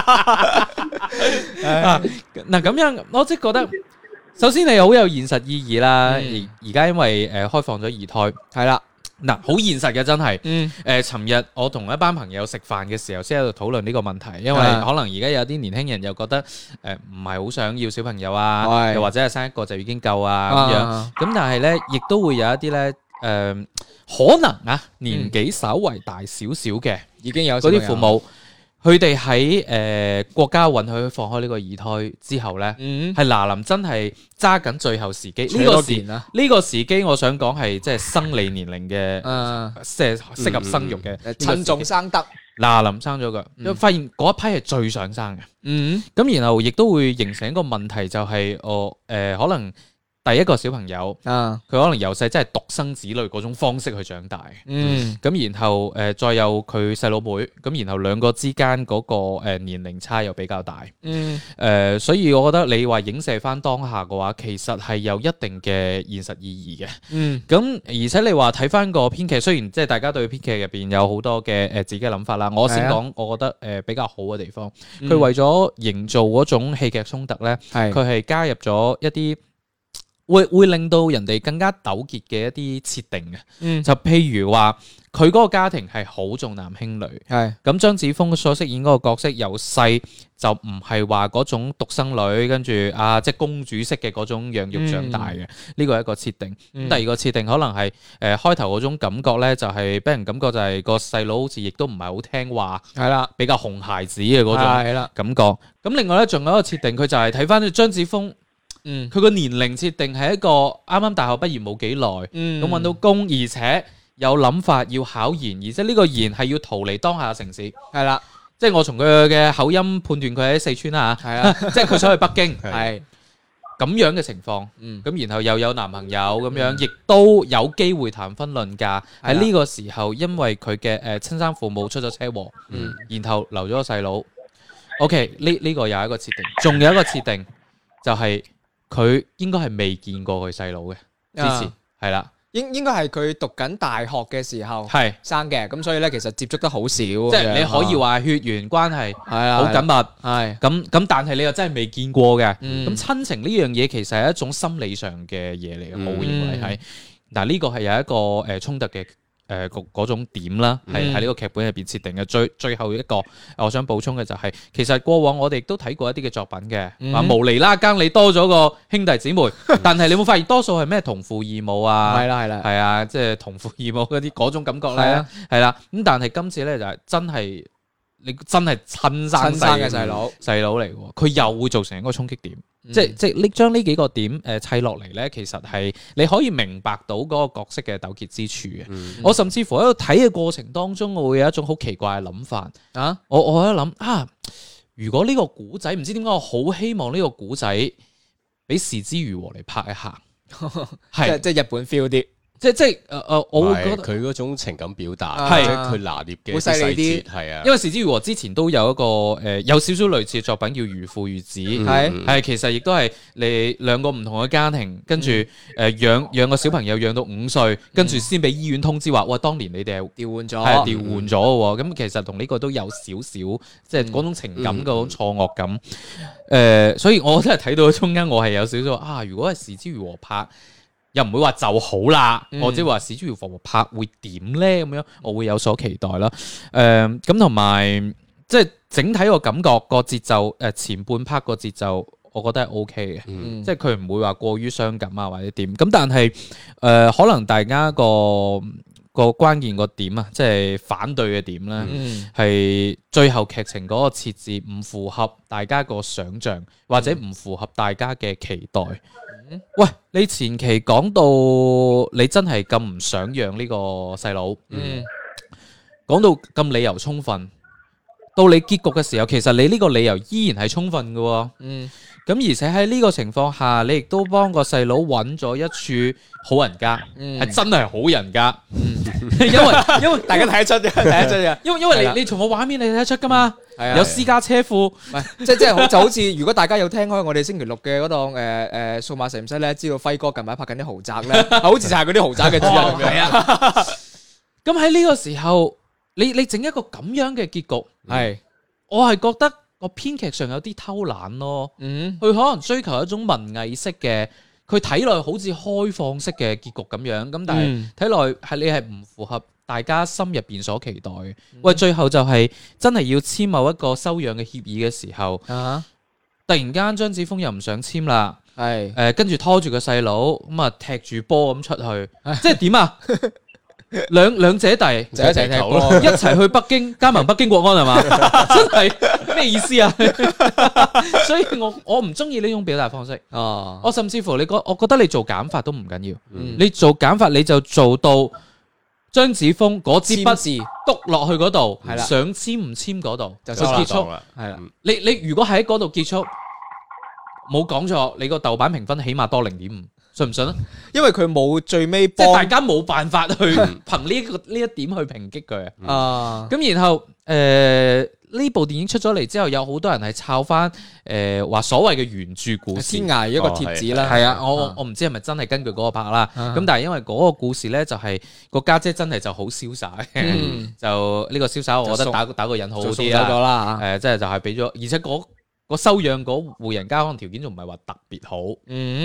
嗱咁樣，我即係覺得，首先你好有現實意義啦。而而家因為誒、呃、開放咗二胎，係啦。嗱，好現實嘅真係，誒、嗯，尋、呃、日我同一班朋友食飯嘅時候，先喺度討論呢個問題，因為可能而家有啲年輕人又覺得，誒、呃，唔係好想要小朋友啊，又或者係生一個就已經夠啊咁樣，咁、啊、但係咧，亦都會有一啲咧，誒、呃，可能啊，年紀稍為大少少嘅，已經有嗰啲父母。佢哋喺誒國家允許放開呢個二胎之後咧，係嗱臨真係揸緊最後時機。呢個時呢個時機，我想講係即係生理年齡嘅，即係適合生育嘅， 趁重生得嗱臨生咗㗎，因為發現嗰一批係最想生嘅。嗯，咁然後亦都會形成一個問題，就係我誒可能。第一個小朋友，佢、啊、可能由細真係獨生子女嗰種方式去長大，嗯，咁然後誒、呃、再有佢細佬妹，咁然後兩個之間嗰個誒年齡差又比較大，嗯，誒、呃，所以我覺得你話影射翻當下嘅話，其實係有一定嘅現實意義嘅，嗯，咁而且你話睇翻個編劇，雖然即係大家對編劇入邊有好多嘅誒自己嘅諗法啦，我先講，我覺得誒比較好嘅地方，佢、嗯、為咗營造嗰種戲劇衝突咧，佢係加入咗一啲。 會會令到人哋更加糾結嘅一啲設定嘅， 嗯就譬如話佢嗰個家庭係好重男輕女， 係咁張子楓所飾演嗰個角色由細就唔係話嗰種獨生女，跟住啊即係公主式嘅嗰種養育長大嘅，呢個係一個設定。咁、 嗯第二個設定可能係誒、呃、開頭嗰種感覺咧，就係俾人感覺就係個細佬好似亦都唔係好聽話， 係啦， 比較熊孩子嘅嗰種係啦， 感覺。咁另外咧仲有一個設定，佢就係睇翻張子楓。 嗯佢個年齡設定係一個啱啱大學畢業冇幾耐， 嗯咁揾到工，而且有諗法要考研，而且呢個研係要逃離當下嘅城市， 係啦， 即係我從佢嘅口音判斷佢喺四川啦嚇， 係啊， 即係佢想去北京， 係咁樣嘅情況， 嗯咁然後又有男朋友咁樣，亦都有機會談婚論嫁。 係啦喺呢個時候，因為佢嘅誒親生父母出咗車禍， 嗯然後留咗個細佬。OK，呢呢個又係一個設定，仲有一個設定就係、佢應該係未見過佢細佬嘅，之前啊係啦， 應應該係佢讀緊大學嘅時候係生嘅，咁所以咧其實接觸得好少，即即係你可以話血緣關係係啊， 好緊密， 係咁咁但係你又真係未見過嘅， 嗯咁親情呢樣嘢其實係一種心理上嘅嘢嚟嘅， 嗯我會認為係，嗱呢個係有一個誒衝突嘅。誒嗰嗰種點啦，係喺呢個劇本入邊設定嘅。最最後一個，我想補充嘅就係、其實過往我哋都睇過一啲嘅作品嘅，話、 嗯無厘啦更你多咗個兄弟姊妹，但係你有冇發現多數係咩同父異母啊？ 係啦係啦， 係啊，即係同父異母嗰啲嗰種感覺咧係啊， 係啦。咁但係今次咧就係真係你真係親生親生嘅細佬， 細佬嚟喎，佢又會造成一個衝擊點。 嗯即係即係你將呢幾個點誒砌落嚟咧，其實係你可以明白到嗰個角色嘅糾結之處嘅。 嗯我甚至乎喺度睇嘅過程當中，我會有一種好奇怪嘅諗法。 啊， 我我喺度諗啊，如果呢個古仔唔知點解，我好希望呢個古仔俾是枝裕和嚟拍一下， 即係係即係日本 feel 啲， 即即係誒誒，我會覺得。 係佢嗰種情感表達， 係即係佢拿捏嘅好犀利啲細節，係啊， 因為是枝裕和之前都有一個誒、呃、有少少類似嘅作品叫《如父如子》， 嗯係嗯係其實亦都係你兩個唔同嘅家庭，跟住誒養養個小朋友養到五歲，跟住先俾醫院通知話，喂，當年你哋係調換咗， 係調換咗嘅喎。咁其實同呢個都有少少即係嗰種情感嗰種錯愕感。誒、所以我真係睇到中間，我係有少少啊，如果係是枝裕和拍。又唔會話就好啦， 嗯或者話是枝裕和拍會點咧咁樣，我會有所期待啦。誒咁同埋即係整體個感覺個節奏，誒、前半 part 個節奏，我覺得係 O K 嘅， 嗯即係佢唔會話過於傷感啊或者點。咁但係誒、呃可能大家個個關鍵個點啊，即係反對嘅點咧， 嗯係、最後劇情嗰個設置唔符合大家個想像，或者唔符合大家嘅期待。喂，你前期講到你真係咁唔想養呢個細佬， 嗯講到咁理由充分，到你結局嘅時候，其實你呢個理由依然係充分嘅喎。 嗯咁而且喺呢個情況下，你亦都幫個細佬揾咗一處好人家， 嗯係真係好人家。因為因為大家睇得出嘅，睇得出嘅， 因為因為係啦你你從個畫面你睇得出噶嘛， 係啊有私家車庫， 唔係即係即係好就好似如果大家有聽開我哋星期六嘅嗰檔誒誒數碼實驗室咧，知道輝哥近排拍緊啲豪宅咧，好似就係嗰啲豪宅嘅主人咁樣。 係啊。咁喺呢個時候，你你整一個咁樣嘅結局， 係， 我係覺得個編劇上有啲偷懶咯。 嗯佢可能追求一種文藝式嘅，佢睇落好似開放式嘅結局咁樣，咁但係嗯睇落係你係唔符合大家心入邊所期待嘅。喂，最後就係真係要簽某一個收養嘅協議嘅時候， 啊， 突然間張子楓又唔想簽啦， 係誒跟住拖住個細佬咁啊踢住波咁出去，即係點啊？兩兩姐弟就一齊踢波一齊去北京加盟北京國安係嘛？真係咩意思啊？所以我我唔中意呢種表達方式。 哦， 我甚至乎你覺，我覺得你做減法都唔緊要。 嗯你做減法你就做到張子楓嗰支筆簽字篤落去嗰度， 係啦想簽唔簽嗰度就收啦就結束。 啦， 係啦， 你你如果喺嗰度結束，冇講錯，你個豆瓣評分起碼多零點五，信唔信啊？ 因為佢冇最尾即係大幫家冇辦法去憑呢個呢一點去抨擊佢。 啊， 咁然後誒呢部電影出咗嚟之後，有好多人係抄翻誒話所謂嘅原著故事天。涯一個貼紙啦， 係啊，我我啊我唔知係咪真係根據嗰個拍啦。 啊咁但係因為嗰個故事咧，就係個家姐真係就好瀟灑嘅， 嗯就呢個瀟灑，我覺就送得打打個引號好做送啲啦。 走咗啦嚇， 誒，即係就係俾咗，而且嗰個收養嗰戶人家可能條件仲唔係話特別好， 嗯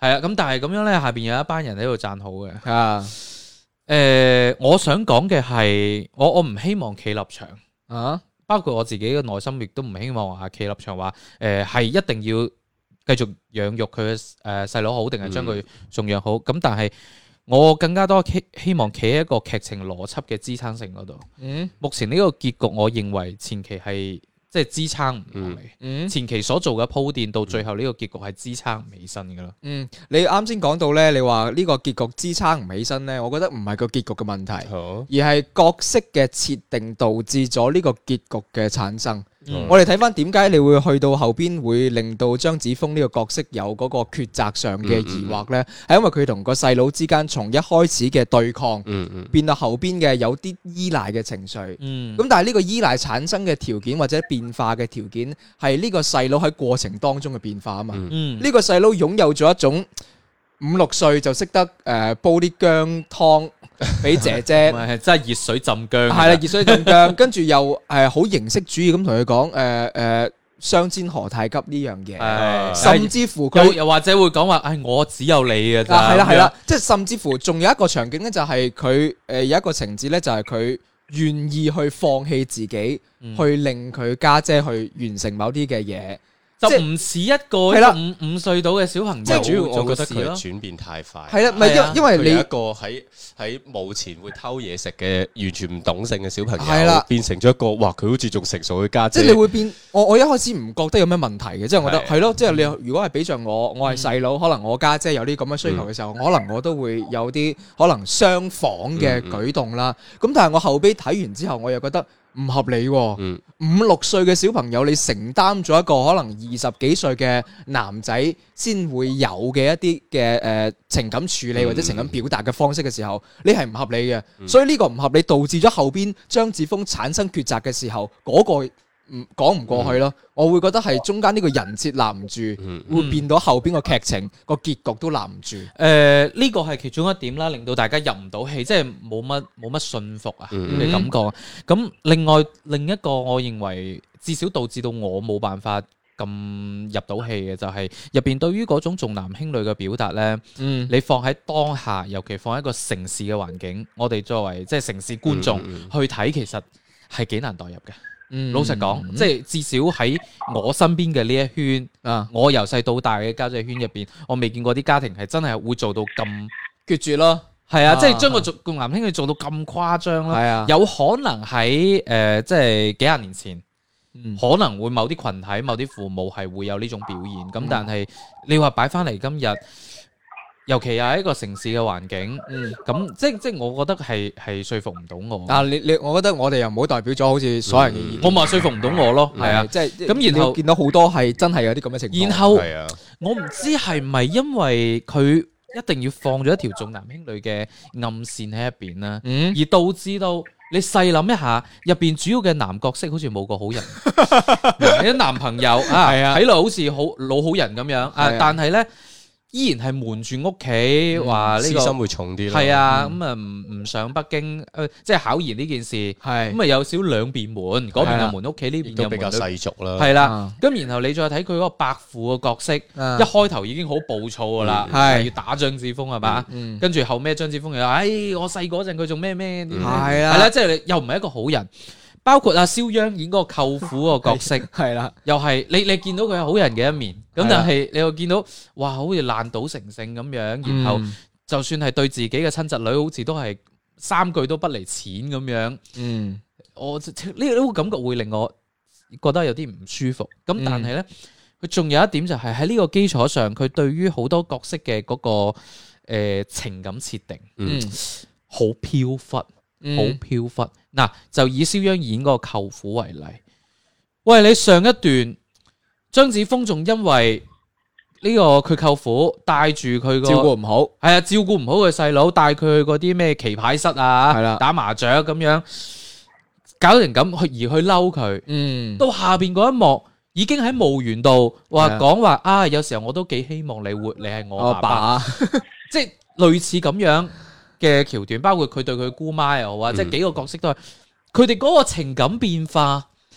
係啊，咁但係咁樣咧，下邊有一班人喺度讚好嘅。 啊， 誒、呃，我想講嘅係，我我唔希望企立場啊， 包括我自己嘅內心，亦都唔希望話企立場話，誒、呃、係一定要繼續養育佢嘅誒細佬好，定係將佢送養好。咁、嗯、但係我更加多希希望企喺一個劇情邏輯嘅支撐性嗰度。 嗯， 目前呢個結局，我認為前期係。即係支撐唔落嚟， 嗯、 前期所做嘅鋪墊到最後呢個結局係支撐唔起身㗎啦。 嗯，你啱先講到咧，你話呢個結局支撐唔起身咧，我覺得唔係個結局嘅問題， 好而係角色嘅設定導致咗呢個結局嘅產生。 嗯、 我哋睇翻點解你會去到後邊會令到張子楓呢個角色有嗰個抉擇上嘅疑惑呢？係、嗯嗯、因為佢同個細佬之間從一開始嘅對抗， 嗯嗯、 變到後邊嘅有啲依賴嘅情緒。咁、 嗯、 但係呢個依賴產生嘅條件或者變化嘅條件係呢個細佬喺過程當中嘅變化啊嘛。呢、 嗯、 個細佬擁有咗一種五六歲就識得誒、呃、煲啲薑湯俾姐姐， 係真係熱水浸薑， 係啦，熱水浸薑，跟住又誒好形式主義咁同佢講誒誒相煎何太急呢樣嘢， 係甚至乎佢又又或者會講話，唉，我只有你嘅咋， 係啦係啦，即係甚至乎仲有一個場景咧，就係佢誒有一個情節咧，就係佢願意去放棄自己， 嗯、 去令佢家姐去完成某啲嘅嘢。 就唔似一個五五歲到嘅小朋友， 即係主要我覺得佢做嘅事咯轉變太快。 係啦，唔係因因為你佢由一個喺喺墓前會偷嘢食嘅完全唔懂性嘅小朋友， 係啦， 變成咗一個哇佢好似仲成熟嘅家姐。 即係你會變，我我一開始唔覺得有咩問題嘅，即係我覺得係咯，即係你如果係比着我，我係細佬，可能我家姐有啲咁嘅需求嘅時候，可能我都會有啲可能相仿嘅舉動啦。咁但係我後尾睇完之後，我又覺得唔合理喎。 嗯五六歲嘅小朋友，你承擔咗一個可能二十幾歲嘅男仔先會有嘅一啲嘅誒情感處理或者情感表達嘅方式嘅時候，你係唔合理嘅。 嗯、所所以呢個唔合理導致咗後邊張子楓產生抉擇嘅時候，嗰、嗰個唔講唔過去咯。嗯、我會覺得係中間呢個人設立唔住， 嗯、 會變到後邊個劇情個結局都立唔住。誒、 呃，呢個係其中一點啦，令到大家入唔到戲，即係冇乜冇乜信服啊嘅、嗯、感覺。咁另外另一個，我認為至少導致到我冇辦法咁入到戲嘅，就係入邊對於嗰種重男輕女嘅表達呢。嗯、你放喺當下，尤其放喺一個城市嘅環境，我哋作為即係城市觀眾、嗯、去睇，其實係幾難代入嘅。嗯、老實講，嗯、即係至少喺我身邊嘅呢一圈，啊、我由細到大嘅家姐圈入邊，我未見過啲家庭係真係會做到咁決絕咯。係啊，啊即係將個重男輕女做到咁誇張咯。係啊，有可能喺誒、呃，即係幾廿年前，嗯、可能會某啲群體、某啲父母係會有呢種表現。咁、嗯、但係你話擺翻嚟今日。尤其又係一個城市嘅環境，咁、嗯、即即我覺得係係說服唔到我。 但係你你，我覺得我哋又唔好代表咗好似所有人嘅意見。 我咪說服唔到我咯，係啊， 即係咁。然後見到好多係真係有啲咁嘅情況。 然後係啊， 我唔知係唔係因為佢一定要放咗一條重男輕女嘅暗線喺入邊啦，嗯、而導致到你細諗一下，入邊主要嘅男角色好似冇個好人，你啲男朋友啊，睇落好似好老好人咁樣啊，但係咧。依然係瞞住屋企，話呢個私心會重啲咯。 係啊，咁啊唔唔上北京，誒即係考研呢件事，係咁啊有少兩邊瞞，嗰邊又瞞屋企，呢邊又比較世俗啦。 係啦，咁然後你再睇佢嗰個伯父嘅角色，一開頭已經好暴躁噶啦，係要打張子楓係嘛，跟住後尾張子楓又話，誒我細嗰陣佢仲咩咩，係啊，係啦，即係你又唔係一個好人。包括阿肖央演嗰個舅父個角色，係啦，又係你你見到佢係好人嘅一面，咁但係你又見到哇，好似爛賭成性咁樣，然後就算係對自己嘅親侄女，好似都係三句都不離錢咁樣。嗯，我呢呢個感覺會令我覺得有啲唔舒服。咁但係咧，佢仲有一點就係喺呢個基礎上，佢對於好多角色嘅嗰個誒情感設定，嗯，好飄忽，好飄忽。嗱，就以肖央演嗰個舅父為例，喂，你上一段張子楓仲因為呢個佢舅父帶住佢個照顧唔好， 係啊，照顧唔好佢細佬，帶佢去嗰啲咩棋牌室啊，係啦，打麻雀咁樣，搞成咁去而去嬲佢，嗯，到下邊嗰一幕已經喺墓園度話講話啊，有時候我都幾希望你活，你係我爸爸，爸即係類似咁樣嘅橋段，包括佢對佢姑媽又好啊，嗯、即係幾個角色都係佢哋嗰個情感變化，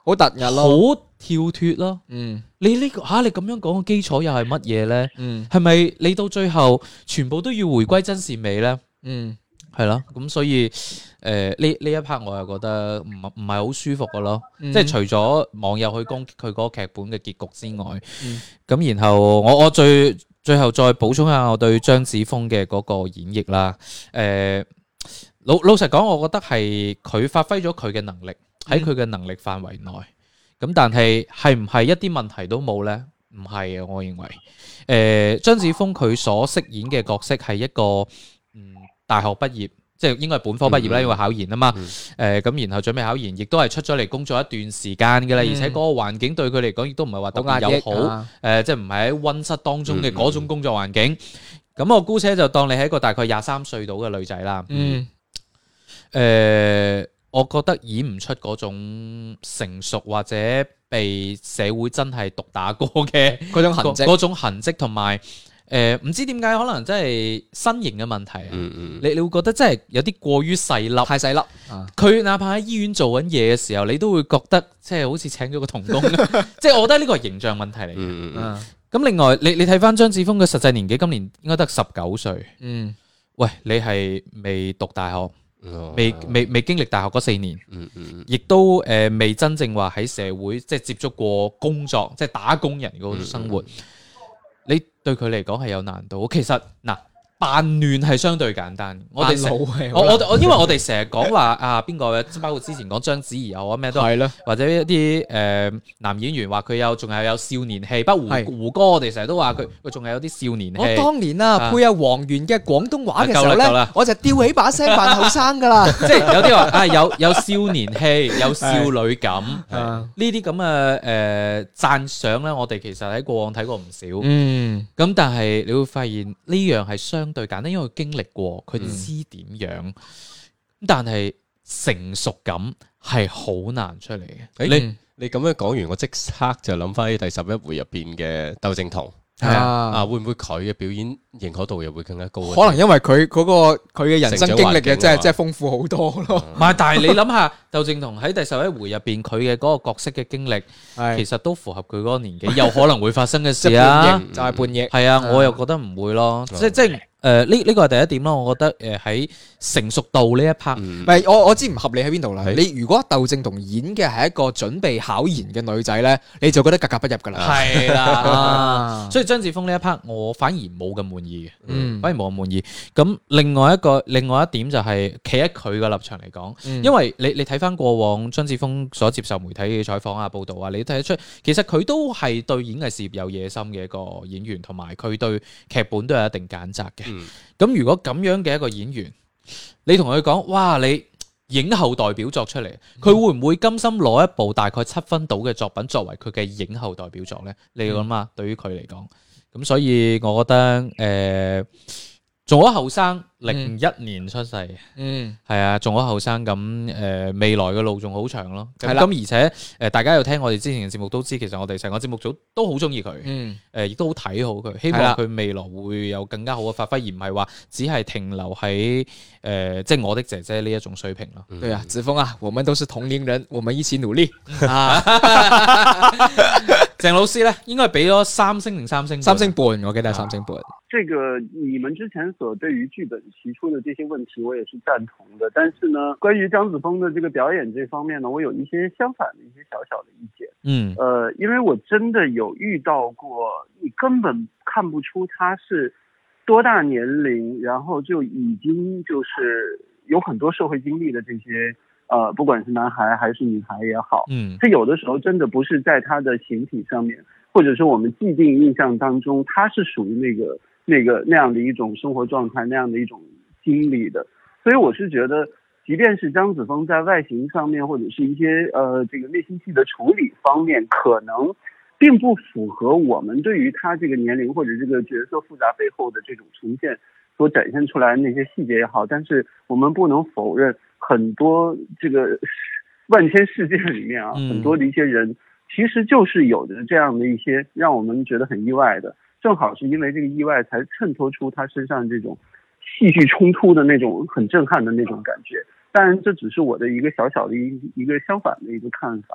好突兀咯， 好跳脫咯。 嗯， 你呢、這個嚇、啊、你咁樣講嘅基礎又係乜嘢咧？ 嗯， 係咪你到最後全部都要回歸真善美咧？ 嗯， 係咯，咁所以誒呢呢一 part 我又覺得唔唔係好舒服嘅咯。 嗯、 即係除咗網友去攻擊佢嗰個劇本嘅結局之外，咁、 嗯、 然後我我最最後再補充下我對張子楓嘅嗰個演繹啦。誒、呃、老老實講，我覺得係佢發揮咗佢嘅能力喺佢嘅能力範圍內。咁、嗯、但係係唔係一啲問題都冇咧？唔係啊，我認為誒、呃、張子楓佢所飾演嘅角色係一個嗯。大學畢業，即係應該係本科畢業啦，嗯、因為考研啊嘛。誒、嗯，咁、呃、然後準備考研，亦都係出咗嚟工作一段時間嘅啦。嗯、而且嗰個環境對佢嚟講，亦都唔係話特別友好。誒、啊呃，即係唔係喺溫室當中嘅嗰種工作環境。咁、嗯、我姑且就當你係一個大概廿三歲到嘅女仔啦。嗯。誒、呃，我覺得演唔出嗰種成熟或者被社會真係毒打過嘅嗰種痕跡， 嗰種痕跡同埋。誒，唔、呃、知點解可能真係身形嘅問題啊！ 嗯嗯、 你你會覺得真係有啲過於細粒， 太細粒。 佢、啊、哪怕喺醫院做緊嘢嘅時候，你都會覺得即係好似請咗個童工。即係我覺得呢個係形象問題嚟嘅。咁、 嗯嗯、 另外，你你睇翻張子楓嘅實際年紀，今年應該得十九歲。 嗯， 喂，你係未讀大學， 哦、 未未未經歷大學嗰四年， 嗯嗯、 亦都誒、呃、未真正話喺社會即係接觸過工作，即係打工人嗰種生活。嗯嗯你對佢嚟講係有難度，其實嗱扮亂係相對簡單。我哋成我我我因為我哋成日講話啊邊個，包括之前講章子怡又啊咩都係咯，或者一啲誒、呃、男演員話佢有仲係有少年氣，不過胡胡歌我哋成日都話佢佢仲係有啲少年氣。 我當年啊配阿黃源嘅廣東話嘅時候咧，我就吊起把聲扮後生噶啦， 即係有啲話啊有有少年氣，有少女感，呢啲咁嘅誒讚賞咧，我哋其實喺過往睇過唔少。嗯，咁但係你會發現呢樣係相對簡單，因為佢經歷過，佢知點樣。嗯、但係成熟感係好難出嚟嘅。 你、嗯、你咁樣講完，我即刻就諗翻起第十一回入邊嘅竇靖童。係啊，啊會唔會佢嘅表演認可度又會更加高？ 可能因為佢嗰個佢嘅人生經歷嘅，真係真係豐富好多咯。 唔係，但係你諗下，竇靖童喺第十一回入邊，佢嘅嗰個角色嘅經歷，其實都符合佢嗰個年紀有可能會發生嘅事啊。 就係叛逆， 係啊，我又覺得唔會咯。即即誒呢呢個係第一點咯。我覺得誒喺成熟度呢一 part， 唔係我我知唔合理喺邊度啦。你如果竇靖童演嘅係一個準備考研嘅女仔咧，你就覺得格格不入噶啦。 係啦，所以張子楓呢一 part 我反而冇咁滿意嘅，嗯，反而冇咁滿意。咁另外一個另外一點就係企喺佢嘅立場嚟講，嗯、因為你你睇翻過往張子楓所接受媒體嘅採訪啊、報導啊，你睇得出其實佢都係對演藝事業有野心嘅一個演員，同埋佢對劇本都有一定揀擇嘅。咁、嗯、如果咁樣嘅一個演員，你同佢講，哇，你影后代表作出嚟，佢會唔會甘心攞一部大概七分到嘅作品作為佢嘅影后代表作呢？你諗下，嗯、對於佢嚟講。咁所以我覺得誒，仲好後生，零一年出世，嗯，係啊，仲好後生，咁誒未來嘅路仲好長咯。係啦，咁而且誒大家有聽我哋之前嘅節目都知，其實我哋成個節目組都好中意佢，嗯，誒亦都好睇好佢，希望佢未來會有更加好嘅發揮，而唔係話只係停留喺誒即係我的姐姐呢一種水平咯。 對啊，子楓啊，我們都是同齡人，我們一起努力啊！ 鄭老師咧，應該俾咗三星定三星半？ 三星半，我記得係三星半。 這個你們之前所對於劇本提出的這些問題，我也是贊同的。但是呢，關於張子楓的這個表演這方面呢，我有一些相反的一些小小的意見。嗯，呃，因為我真的有遇到過，你根本看不出他是多大年齡，然後就已經就是有很多社會經歷的這些。呃，不管是男孩還是女孩也好，嗯，他有的時候真的不是在他的形體上面，或者是我們既定印象當中，他是屬於那個、那個那樣的一種生活狀態，那樣的一種經歷的。所以我是覺得，即便是張子楓在外形上面，或者是一些呃這個內心戲的處理方面，可能並不符合我們對於他這個年齡或者這個角色複雜背後的這種呈現所展現出來的那些細節也好，但是我們不能否認。很多這個萬千世界裏面啊，很多的一些人其實就是有着這樣的一些讓我們覺得很意外的，正好是因為這個意外才襯托出他身上這種戲劇衝突的那種很震撼的那種感覺。當然這只是我的一個小小的一一個相反的一個看法。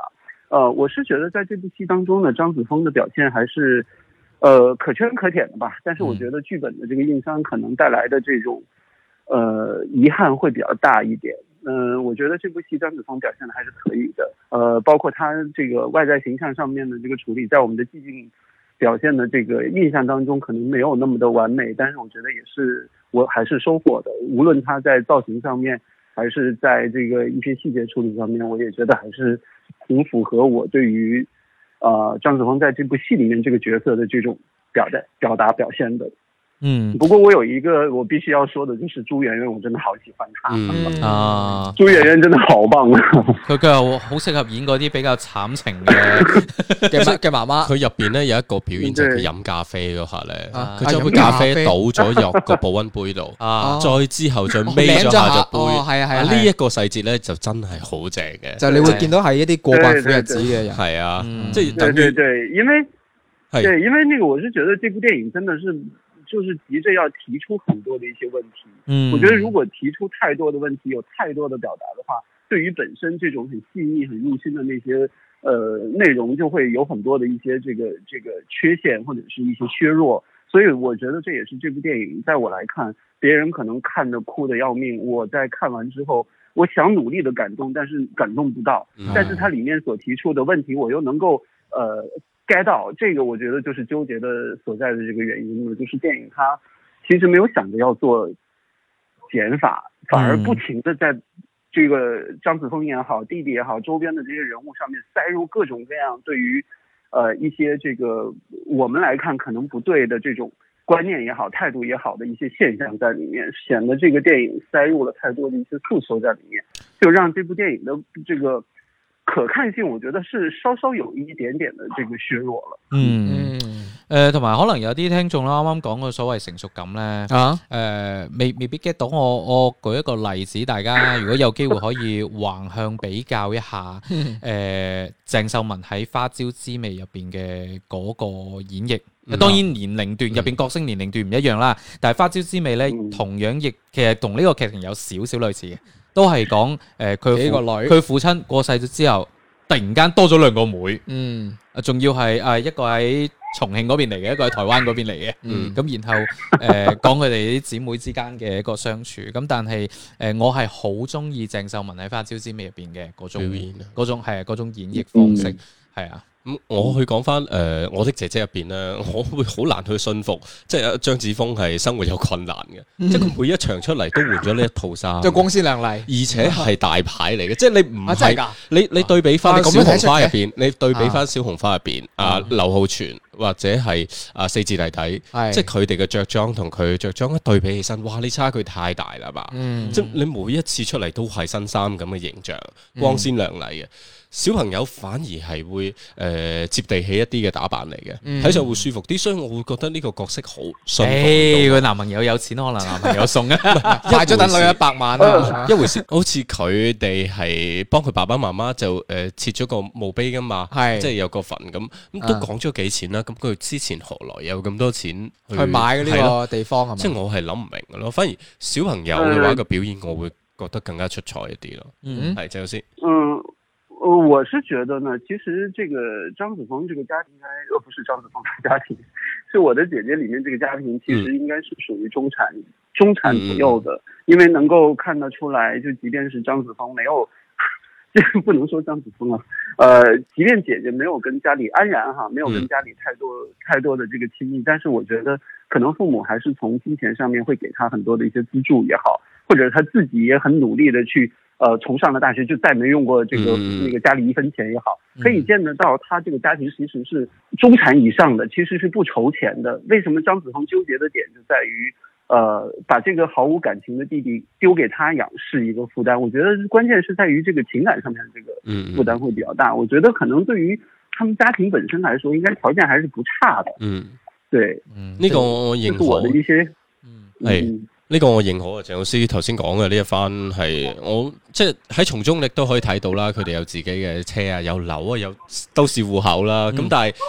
呃，我是觉得在这部戏当中呢，张子枫的表现还是呃可圈可点的吧。但是我觉得剧本的这个硬伤可能带来的这种呃遗憾会比较大一点。嗯、呃，我觉得这部戏张子枫表现的还是可以的。呃，包括他这个外在形象上面的这个处理，在我们的寂静表现的这个印象当中可能没有那么的完美，但是我觉得也是我还是收获的。无论他在造型上面，还是在这个一些细节处理上面，我也觉得还是挺符合我对于呃张子枫在这部戏里面这个角色的这种表达表达表现的。 嗯， 不过我有一个我必须要说的，就是朱媛媛，我真的好喜欢她。 嗯啊， 朱媛媛真的好棒啊！ 佢佢又好適合演嗰啲比較慘情嘅嘅嘅媽媽。 佢入邊咧有一個表演就係佢飲咖啡嗰下咧，佢將杯啊咖啡倒咗入個保溫杯度， 啊， 再之後再孭咗下隻杯， 係啊係啊， 呢一個細節咧就真係好正嘅。 就你會見到係一啲過慣苦日子嘅人。 係啊， 即係對對對，因為對，因為那個我是覺得這部電影真的是。就是急着要提出很多的一些問題，嗯，我覺得如果提出太多的問題，有太多的表達的話，對於本身這種很細膩、很入心的那些呃內容，就會有很多的一些這個這個缺陷或者是一些削弱。所以我覺得這也是這部電影，在我來看，別人可能看得哭得要命，我在看完之後，我想努力的感動，但是感動不到，嗯、但是它裡面所提出的問題，我又能夠呃。get 到這個，我覺得就是糾結的所在的這個原因了，就是電影它其實沒有想着要做減法，反而不停的在這個張子楓也好，弟弟也好，周邊的這些人物上面塞入各種各樣對於呃一些這個我們來看可能不對的這種觀念也好，態度也好的一些現象在裡面，顯得這個電影塞入了太多的一些訴求在裡面，就讓這部電影的這個可看性，我覺得是稍稍有一點點的這個削弱了。 嗯，誒同埋可能有啲聽眾啦，啱啱講個所謂成熟感咧，啊，誒、呃、未未必 get 到我。我舉一個例子，大家如果有機會可以橫向比較一下，誒、呃、鄭秀文喺《花椒之味》入邊嘅嗰個演繹。嗯、當然年齡段入邊角色年齡段唔一樣啦，但係《花椒之味》咧、嗯、同樣亦其實同呢個劇情有少少類似嘅。都係講誒佢幾個女，佢父親過世咗之後，突然間多咗兩個妹，嗯，仲要係誒一個喺重慶嗰邊嚟嘅，一個喺台灣嗰邊嚟嘅，嗯，咁然後誒、呃、講佢哋啲姊妹之間嘅一個相處，咁但係誒、呃、我係好中意鄭秀文喺《花椒之味》入邊嘅嗰種嗰種係嗰種演繹方式，係、嗯、啊。 咁我去講翻誒我的姐姐入邊咧，我會好難去信服，即係張子楓係生活有困難嘅，嗯、即係佢每一場出嚟都換咗呢一套衫， 即係光鮮亮麗， 而且係大牌嚟嘅，即係你唔係、啊、你你對比翻小紅花入邊，你對比翻小紅花入邊啊劉浩存或者係啊四字弟弟，嗯、即係佢哋嘅着裝同佢着裝一對比起身，哇！你差距太大啦吧？嗯、即係你每一次出嚟都係新衫咁嘅形象，光鮮亮麗嘅。小朋友反而係會誒、呃、接地氣一啲嘅打扮嚟嘅，睇、嗯、上會舒服啲，所以我會覺得呢個角色好順。 誒，佢男朋友有錢，可能男朋友送啊， 買咗等女一百萬啊， 一回事。好似佢哋係幫佢爸爸媽媽就誒、呃、設咗個墓碑噶嘛，即係有個墳咁，咁都講咗幾錢啦。咁佢之前何來有咁多錢去， 去買呢個地方係嘛？ 即係我係諗唔明嘅咯。反而小朋友嘅話個表演，我會覺得更加出彩一啲咯。嗯，係鄭老師。 嗯。呃，我是覺得呢，其實這個張子楓這個家庭應該，呃，不是張子楓的家庭，是我的姐姐裡面這個家庭，其實應該是屬於中產、嗯、中產左右的，因為能夠看得出來，就即便是張子楓沒有，這個不能說張子楓啊，呃，即便姐姐沒有跟家裡安然哈，沒有跟家裡太多、嗯、太多的這個親密，但是我覺得可能父母還是從金錢上面會給他很多的一些資助也好，或者他自己也很努力的去。呃，從上了大學就再沒用過這個、嗯、那個家裡一分錢也好，可以見得到他這個家庭其實是中產以上的，其實是不愁錢的。為什麼張子楓糾結的點就在於，呃，把這個毫無感情的弟弟丟給他養是一個負擔。我覺得關鍵是在於這個情感上面這個負擔會比較大。我覺得可能對於他們家庭本身來說，應該條件還是不差的。嗯，對， 嗯，呢個我認可。 我的一些， 嗯，係。呢個我認可啊，鄭老師頭先講嘅呢一番係我即係喺從中你都可以睇到啦，佢哋有自己嘅車啊，有樓啊，有都市戶口啦。咁、嗯、但係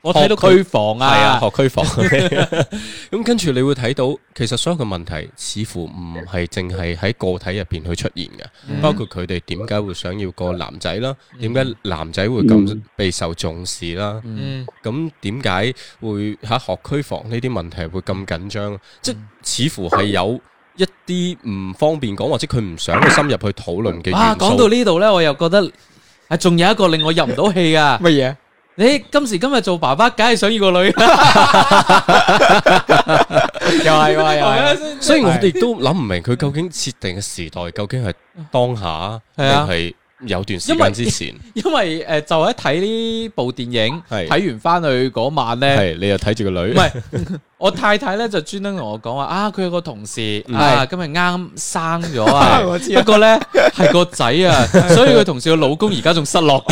我睇到區房啊， 係啊，學區房。咁跟住你會睇到，其實所有嘅問題似乎唔係淨係喺個體入邊去出現嘅，嗯、包括佢哋點解會想要個男仔啦，點解、嗯、男仔會咁備受重視啦，咁點解會喺學區房呢啲問題會咁緊張？嗯、即係似乎係有一啲唔方便講，或者佢唔想去深入去討論嘅元素。 啊，講到呢度咧，我又覺得係仲有一個令我入唔到戲啊！ 乜嘢？ 你今時今日做爸爸，梗係想要個女，又係又係， 所以我哋都諗唔明佢究竟設定嘅時代究竟係當下定係有段時間之前？ 因為誒，就喺睇呢部電影，睇完翻去嗰晚咧， 係你又睇住個女， 唔係我太太咧就專登同我講話啊，佢有個同事啊，今日啱生咗啊，不過咧係個仔啊，所以佢同事嘅老公而家仲失落。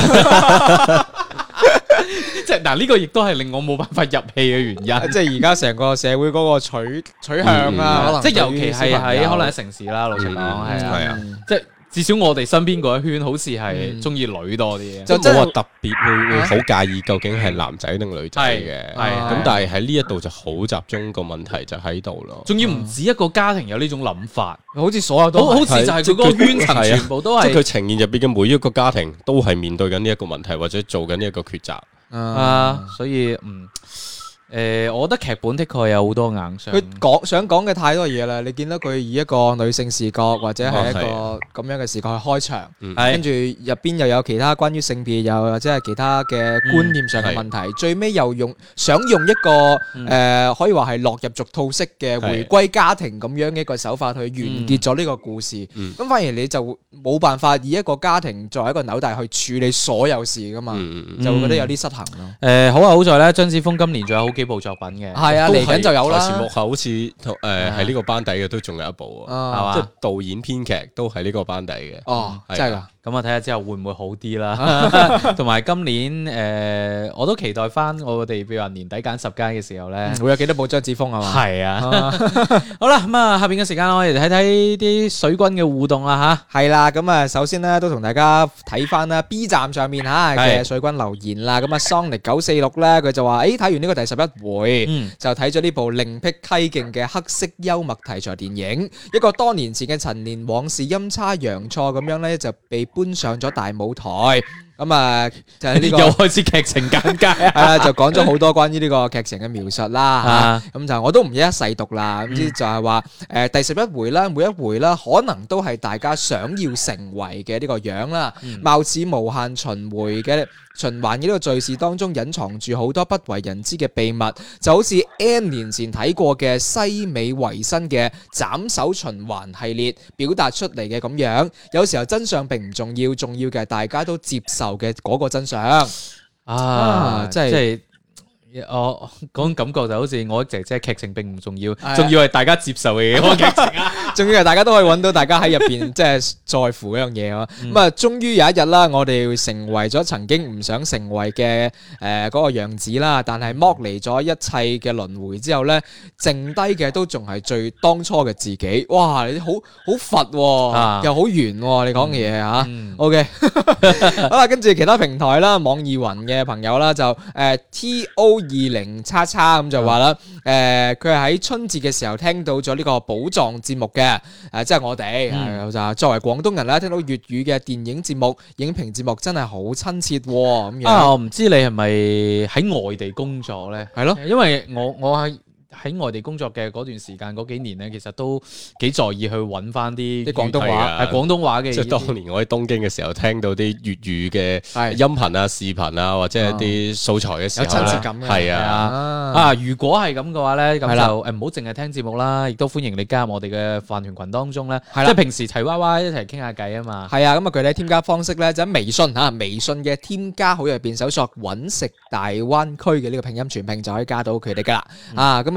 即係嗱，呢個亦都係令我冇辦法入戲嘅原因。 即係而家成個社會嗰個取取向啊，可能即係尤其係喺可能喺城市啦，老實講係啊，即係至少我哋身邊嗰一圈好似係中意女多啲， 就冇話特別會會好介意究竟係男仔定女仔嘅。係咁，但係喺呢一度就好集中個問題就喺度咯。 仲要唔止一個家庭有呢種諗法， 好似所有都好似就係佢嗰個圈層全部都係， 即係佢呈現入邊嘅每一個家庭都係面對緊呢一個問題，或者做緊呢一個抉擇。 啊，所以嗯，誒、呃，我覺得劇本的確有好多硬傷。 佢講想講嘅太多嘢啦，你見到佢以一個女性視角或者係一個咁樣嘅視角去開場， 嗯、 跟住入邊又有其他關於性別又或者係其他嘅觀念上嘅問題，嗯、最尾又用想用一個誒、 嗯呃、可以話係落入俗套式嘅回歸家庭咁樣嘅一個手法去完結咗呢個故事。咁、嗯嗯、反而你就冇辦法以一個家庭作為一個紐帶去處理所有事噶嘛，嗯、就會覺得有啲失衡咯。誒、 呃，好啊，好在咧，張子楓今年仲有好幾部作品嘅， 係啊，嚟緊就有啦。 台前幕後好似誒係呢個班底嘅都仲有一部啊，係嘛？即係導演編劇都係呢個班底嘅。 哦，真係噶。 咁啊，睇下之後會唔會好啲啦？同埋今年誒，我都期待翻我哋，譬如話年底揀十佳嘅時候咧， 會有幾多部張子楓啊？嘛， 係啊。好啦，咁啊，下邊嘅時間我哋睇睇啲水軍嘅互動啦吓。 係啦，咁啊，首先咧都同大家睇翻啦 B 站上面吓嘅水軍留言啦。咁啊，Sonic 九四六咧，佢就話：誒，睇完呢個第十一回，就睇咗呢部另辟蹊徑嘅黑色幽默題材電影，一個多年前嘅陳年往事陰差陽錯咁樣咧就被搬上咗大舞台，咁啊就係呢個又開始劇情簡介啊，就講咗好多關於呢個劇情嘅描述啦，咁就我都唔一一細讀啦，咁之就係話誒第十一回啦，每一回啦，可能都係大家想要成為嘅呢個樣啦，貌似無限循環嘅循環嘅呢個敘事當中隱藏住好多不為人知嘅秘密，就好似 N 年前睇過嘅西美維新嘅斬首循環系列表達出嚟嘅咁樣，有時候真相並唔重要，重要嘅係大家都接受嘅嗰個真相啊！即係我嗰種感覺就好似我姐姐劇情並唔重要，重要係大家接受嘅嗰個劇情啊！ 仲要係大家都可以揾到大家喺入邊即係在乎嗰樣嘢啊！咁啊，終於有一日啦，我哋成為咗曾經唔想成為嘅誒嗰個樣子啦，但係剝離咗一切嘅輪迴之後咧，剩低嘅都仲係最當初嘅自己。哇！你好好佛，啊、又好圓，你講嘅嘢吓。O K，好啦，跟住其他平台啦，網易雲嘅朋友啦，就誒、呃、T O 二零叉叉咁就話啦，誒佢係喺春節嘅時候聽到咗呢個寶藏節目嘅，誒、呃、即係我哋，就、嗯、作為廣東人啦，聽到粵語嘅電影節目、影評節目真係好親切咁樣。 啊，我唔知你係咪喺外地工作咧？係咯，因為我我喺。喺外地工作嘅嗰段時間嗰幾年咧，其實都幾在意去揾翻啲啲廣東話，係廣東話嘅。 即係當年我喺東京嘅時候，聽到啲粵語嘅音頻啊、視頻啊，或者係啲素材嘅時候， 有親切感嘅。 係啊， 啊，如果係咁嘅話咧，咁就誒唔好淨係聽節目啦，亦都歡迎你加入我哋嘅飯團群當中咧。即係平時齊娃娃一齊傾下偈啊嘛。 係啊，咁啊具體添加方式咧就喺微信嚇，微信嘅添加好友入邊搜索揾食大灣區嘅呢個拼音全拼就可以加到佢哋噶啦。啊，咁啊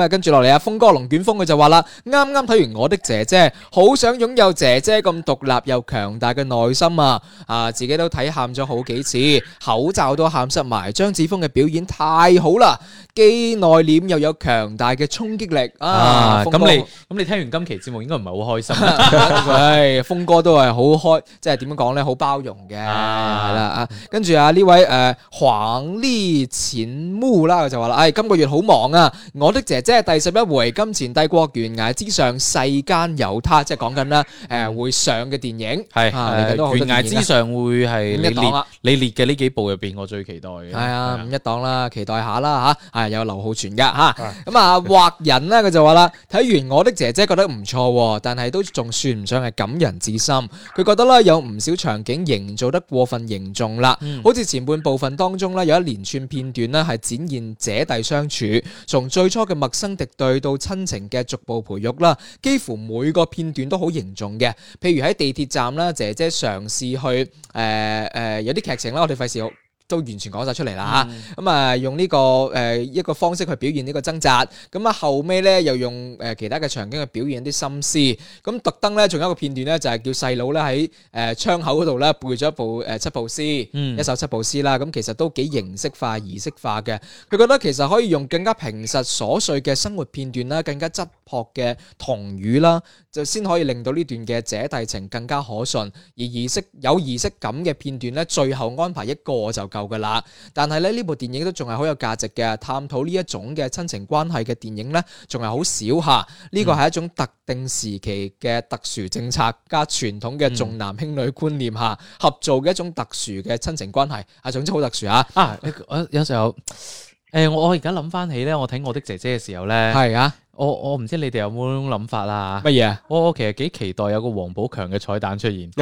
啊，跟住落嚟啊，峰哥龍捲風佢就話啦，啱啱睇完我的姐姐，好想擁有姐姐咁獨立又強大嘅內心啊！啊，自己都睇喊咗好幾次，口罩都喊濕埋。張子楓嘅表演太好啦，既內斂又有強大嘅衝擊力啊！ 咁你咁你聽完今期節目應該唔係好開心， 係峰哥都係好開，即係點樣講咧，好包容嘅，係啦啊！跟住啊呢位誒黃麗淺木啦就話啦，誒今個月好忙啊！我的姐姐第十一回《金錢帝國懸崖之上世間有他》，即係講緊啦誒會上嘅電影係誒懸崖之上會係你列你列嘅呢幾部入邊我最期待嘅。 係啊，五一檔啦，期待下啦吓，係有劉浩存噶吓，咁啊畫人咧佢就話啦，睇完我的姐姐覺得唔錯，但係都仲算唔上係感人至深。佢覺得咧有唔少場景營造得過分凝重啦，嗯、好似前半部分當中咧有一連串片段咧係展現姐弟相處，從最初嘅陌生敵對到親情嘅逐步培育啦，幾乎每個片段都好凝重嘅。譬如喺地鐵站啦，姐姐嘗試去誒誒、呃呃、有啲劇情啦，我哋費事都完全講晒出嚟啦嚇，咁啊、嗯、用呢、這個誒、呃、一個方式去表現呢個掙扎，咁啊後尾咧又用誒其他嘅場景去表現啲心思，咁特登咧仲有一個片段咧就係叫細佬咧喺誒窗口嗰度咧背咗一部誒七步詩，嗯、一首七步詩啦，咁其實都幾形式化、儀式化嘅。佢覺得其實可以用更加平實瑣碎嘅生活片段啦，更加質樸嘅童語啦，就先可以令到呢段嘅姐弟情更加可順。而儀式有儀式感嘅片段咧，最後安排一個就夠噶啦，但係咧呢部電影都仲係好有價值嘅，探討呢一種嘅親情關係嘅電影咧，仲係好少吓。呢個係一種特定時期嘅特殊政策加傳統嘅重男輕女觀念下、嗯、合做嘅一種特殊嘅親情關係，啊，總之好特殊啊！啊， 我有時候誒、呃，我我而家諗翻起咧，我睇我的姐姐嘅時候咧， 係啊。 我我唔知你哋有冇種諗法啦？ 乜嘢？ 我我其實幾期待有個王寶強嘅彩蛋出現，因為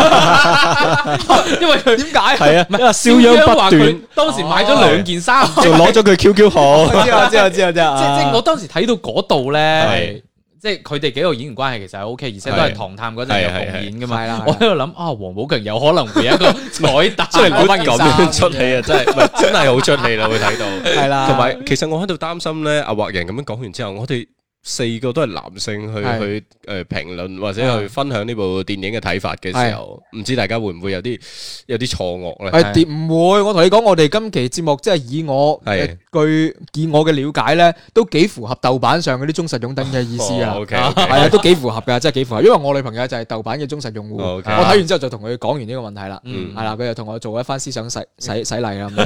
佢點解？係啊，因為肖央不斷當時買咗兩件衫， 仲攞咗佢 Q Q 號。 知啊知啊知啊知啊！ 即即我當時睇到嗰度咧，即係佢哋幾個演員關係其實係 O K， 而且都係唐探嗰陣有共演噶嘛。我喺度諗啊，王寶強有可能會有一個彩蛋出嚟攞翻件衫出戲啊！真係真係好出戲啦，會睇到。 係啦， 同埋其實我喺度擔心咧，阿畫人咁樣講完之後，我哋四個都係男性去去誒評論或者去分享呢部電影嘅睇法嘅時候，唔知大家會唔會有啲有啲錯愕咧？ 係唔會？我同你講，我哋今期節目即係以我據以我嘅了解咧，都幾符合豆瓣上嗰啲忠實擁躉嘅意思啊！係啊，都幾符合㗎，真係幾符合。因為我女朋友就係豆瓣嘅忠實用戶，我睇完之後就同佢講完呢個問題啦。係啦，佢就同我做一番思想洗洗洗禮啦。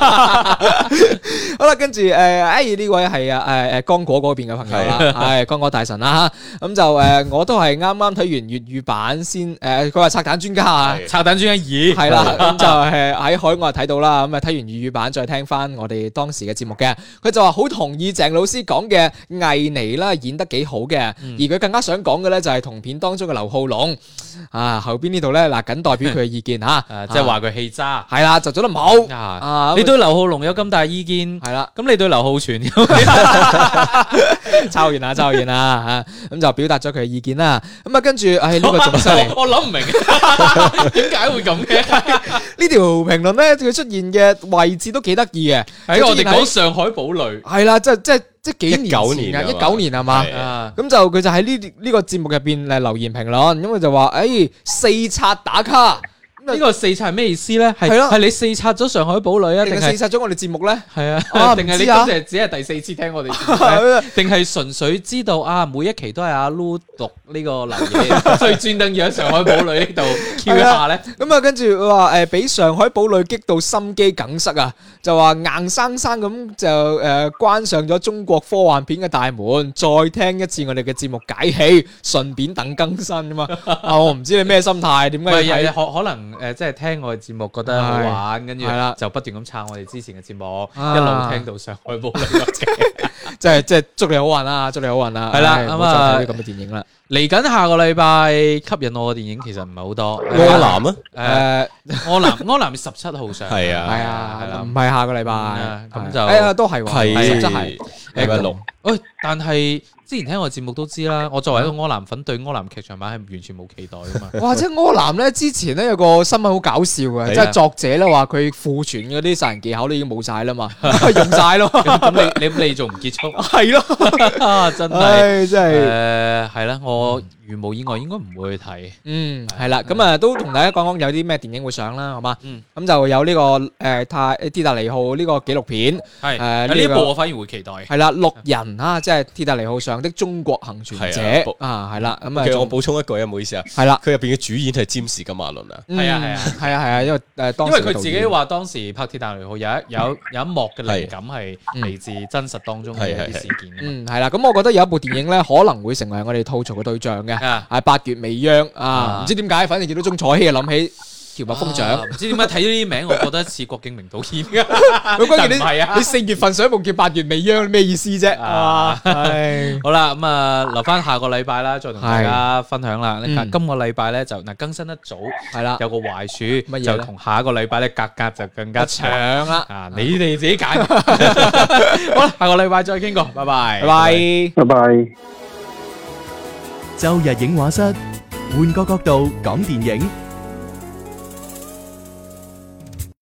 好啦，跟住誒，哎呢位係啊誒誒剛果嗰邊嘅朋友啦。係剛果大神啦吓，咁就誒，我都係啱啱睇完粵語版先誒，佢話拆彈專家啊， 拆彈專家二係啦，咁就係喺海外睇到啦，咁啊睇完粵語版再聽翻我哋當時嘅節目嘅，佢就話好同意鄭老師講嘅魏妮啦，演得幾好嘅，而佢更加想講嘅咧就係同片當中嘅劉浩龍啊，後邊呢度咧嗱，僅代表佢嘅意見吓， 即係話佢氣渣， 係啦，就做得唔好啊！ 你對劉浩龍有咁大意見，係啦，咁你對劉浩存有抄完啦，抄完啦吓，咁就表達咗佢嘅意見啦。咁啊，跟住，唉，呢個仲犀利， 我諗唔明點解會咁嘅。 呢條評論咧，佢出現嘅位置都幾得意嘅。 喺我哋講上海堡壘， 係啦，即係即係即係幾年九年啊，一九年係嘛？咁就佢就喺呢呢個節目入邊誒留言評論，咁佢就話：誒四刷打卡。 呢個四刷係咩意思咧？係係你四刷咗上海堡壘啊？定係四刷咗我哋節目咧？ 係啊，定係你今日只係第四次聽我哋節目？定係純粹知道啊？每一期都係阿 Lu 讀呢個留言，所以專登要喺上海堡壘呢度 Q 一下咧。咁啊，跟住佢話誒，俾上海堡壘激到心肌梗塞啊！就話硬生生咁就誒關上咗中國科幻片嘅大門，再聽一次我哋嘅節目解氣，順便等更新啊嘛！啊，我唔知你咩心態，點解可可能？誒，即係聽我嘅節目覺得好玩，跟住就不斷咁撐我哋之前嘅節目，一路聽到上海堡壘嗰期， 即係即係祝你好運啦，祝你好運啦， 係啦，咁啊啲咁嘅電影啦。 嚟緊下個禮拜吸引我嘅電影其實唔係好多。 柯南啊， 誒，柯南柯南十七號上， 係啊， 係啊，唔係下個禮拜， 咁就誒都係，係十七係禮拜六。 喂，但係之前聽我節目都知啦，我作為一個柯南粉，對柯南劇場版係完全冇期待噶嘛。 哇！即係柯南咧，之前咧有個新聞好搞笑嘅，即係作者咧話佢庫存嗰啲殺人技巧都已經冇晒啦嘛，用晒咯。 咁你你你仲唔結束？ 係咯， 真係， 真係誒係啦，我如無意外應該唔會去睇。 嗯，係啦，咁啊都同大家講講有啲咩電影會上啦，好嘛？ 嗯， 咁就有呢個誒泰鐵達尼號呢個紀錄片， 係誒呢部我反而會期待。 係啦，六人啊，即係鐵達尼號上的中國幸存者啊，係啦，咁啊， 其實我補充一句啊，唔好意思啊， 係啦， 佢入邊嘅主演係詹士金馬倫啊， 係啊係啊係啊係啊，因為誒當因為佢自己話當時拍鐵達尼號有一有有一幕嘅靈感係嗯嚟自真實當中嘅一啲事件。 嗯，係啦，咁我覺得有一部電影咧可能會成為我哋吐槽嘅對象嘅，係八月未央啊，唔知點解，反正見到鐘楚曦啊，諗起喬蜜蜂長， 唔知點解睇咗呢啲名，我覺得似郭敬明導演㗎。 佢關鍵唔係啊， 你四月份上一部叫八月未央，咩意思啫？啊， 好啦，咁啊留翻下個禮拜啦，再同大家分享啦。今個禮拜咧就嗱更新得早，係啦，有個壞處，乜嘢就同下一個禮拜咧格格就更加長啦。啊，你哋自己揀。好啦，下個禮拜再傾過，拜拜， 拜拜， 拜拜。 周日影畫室，換個角度講電影。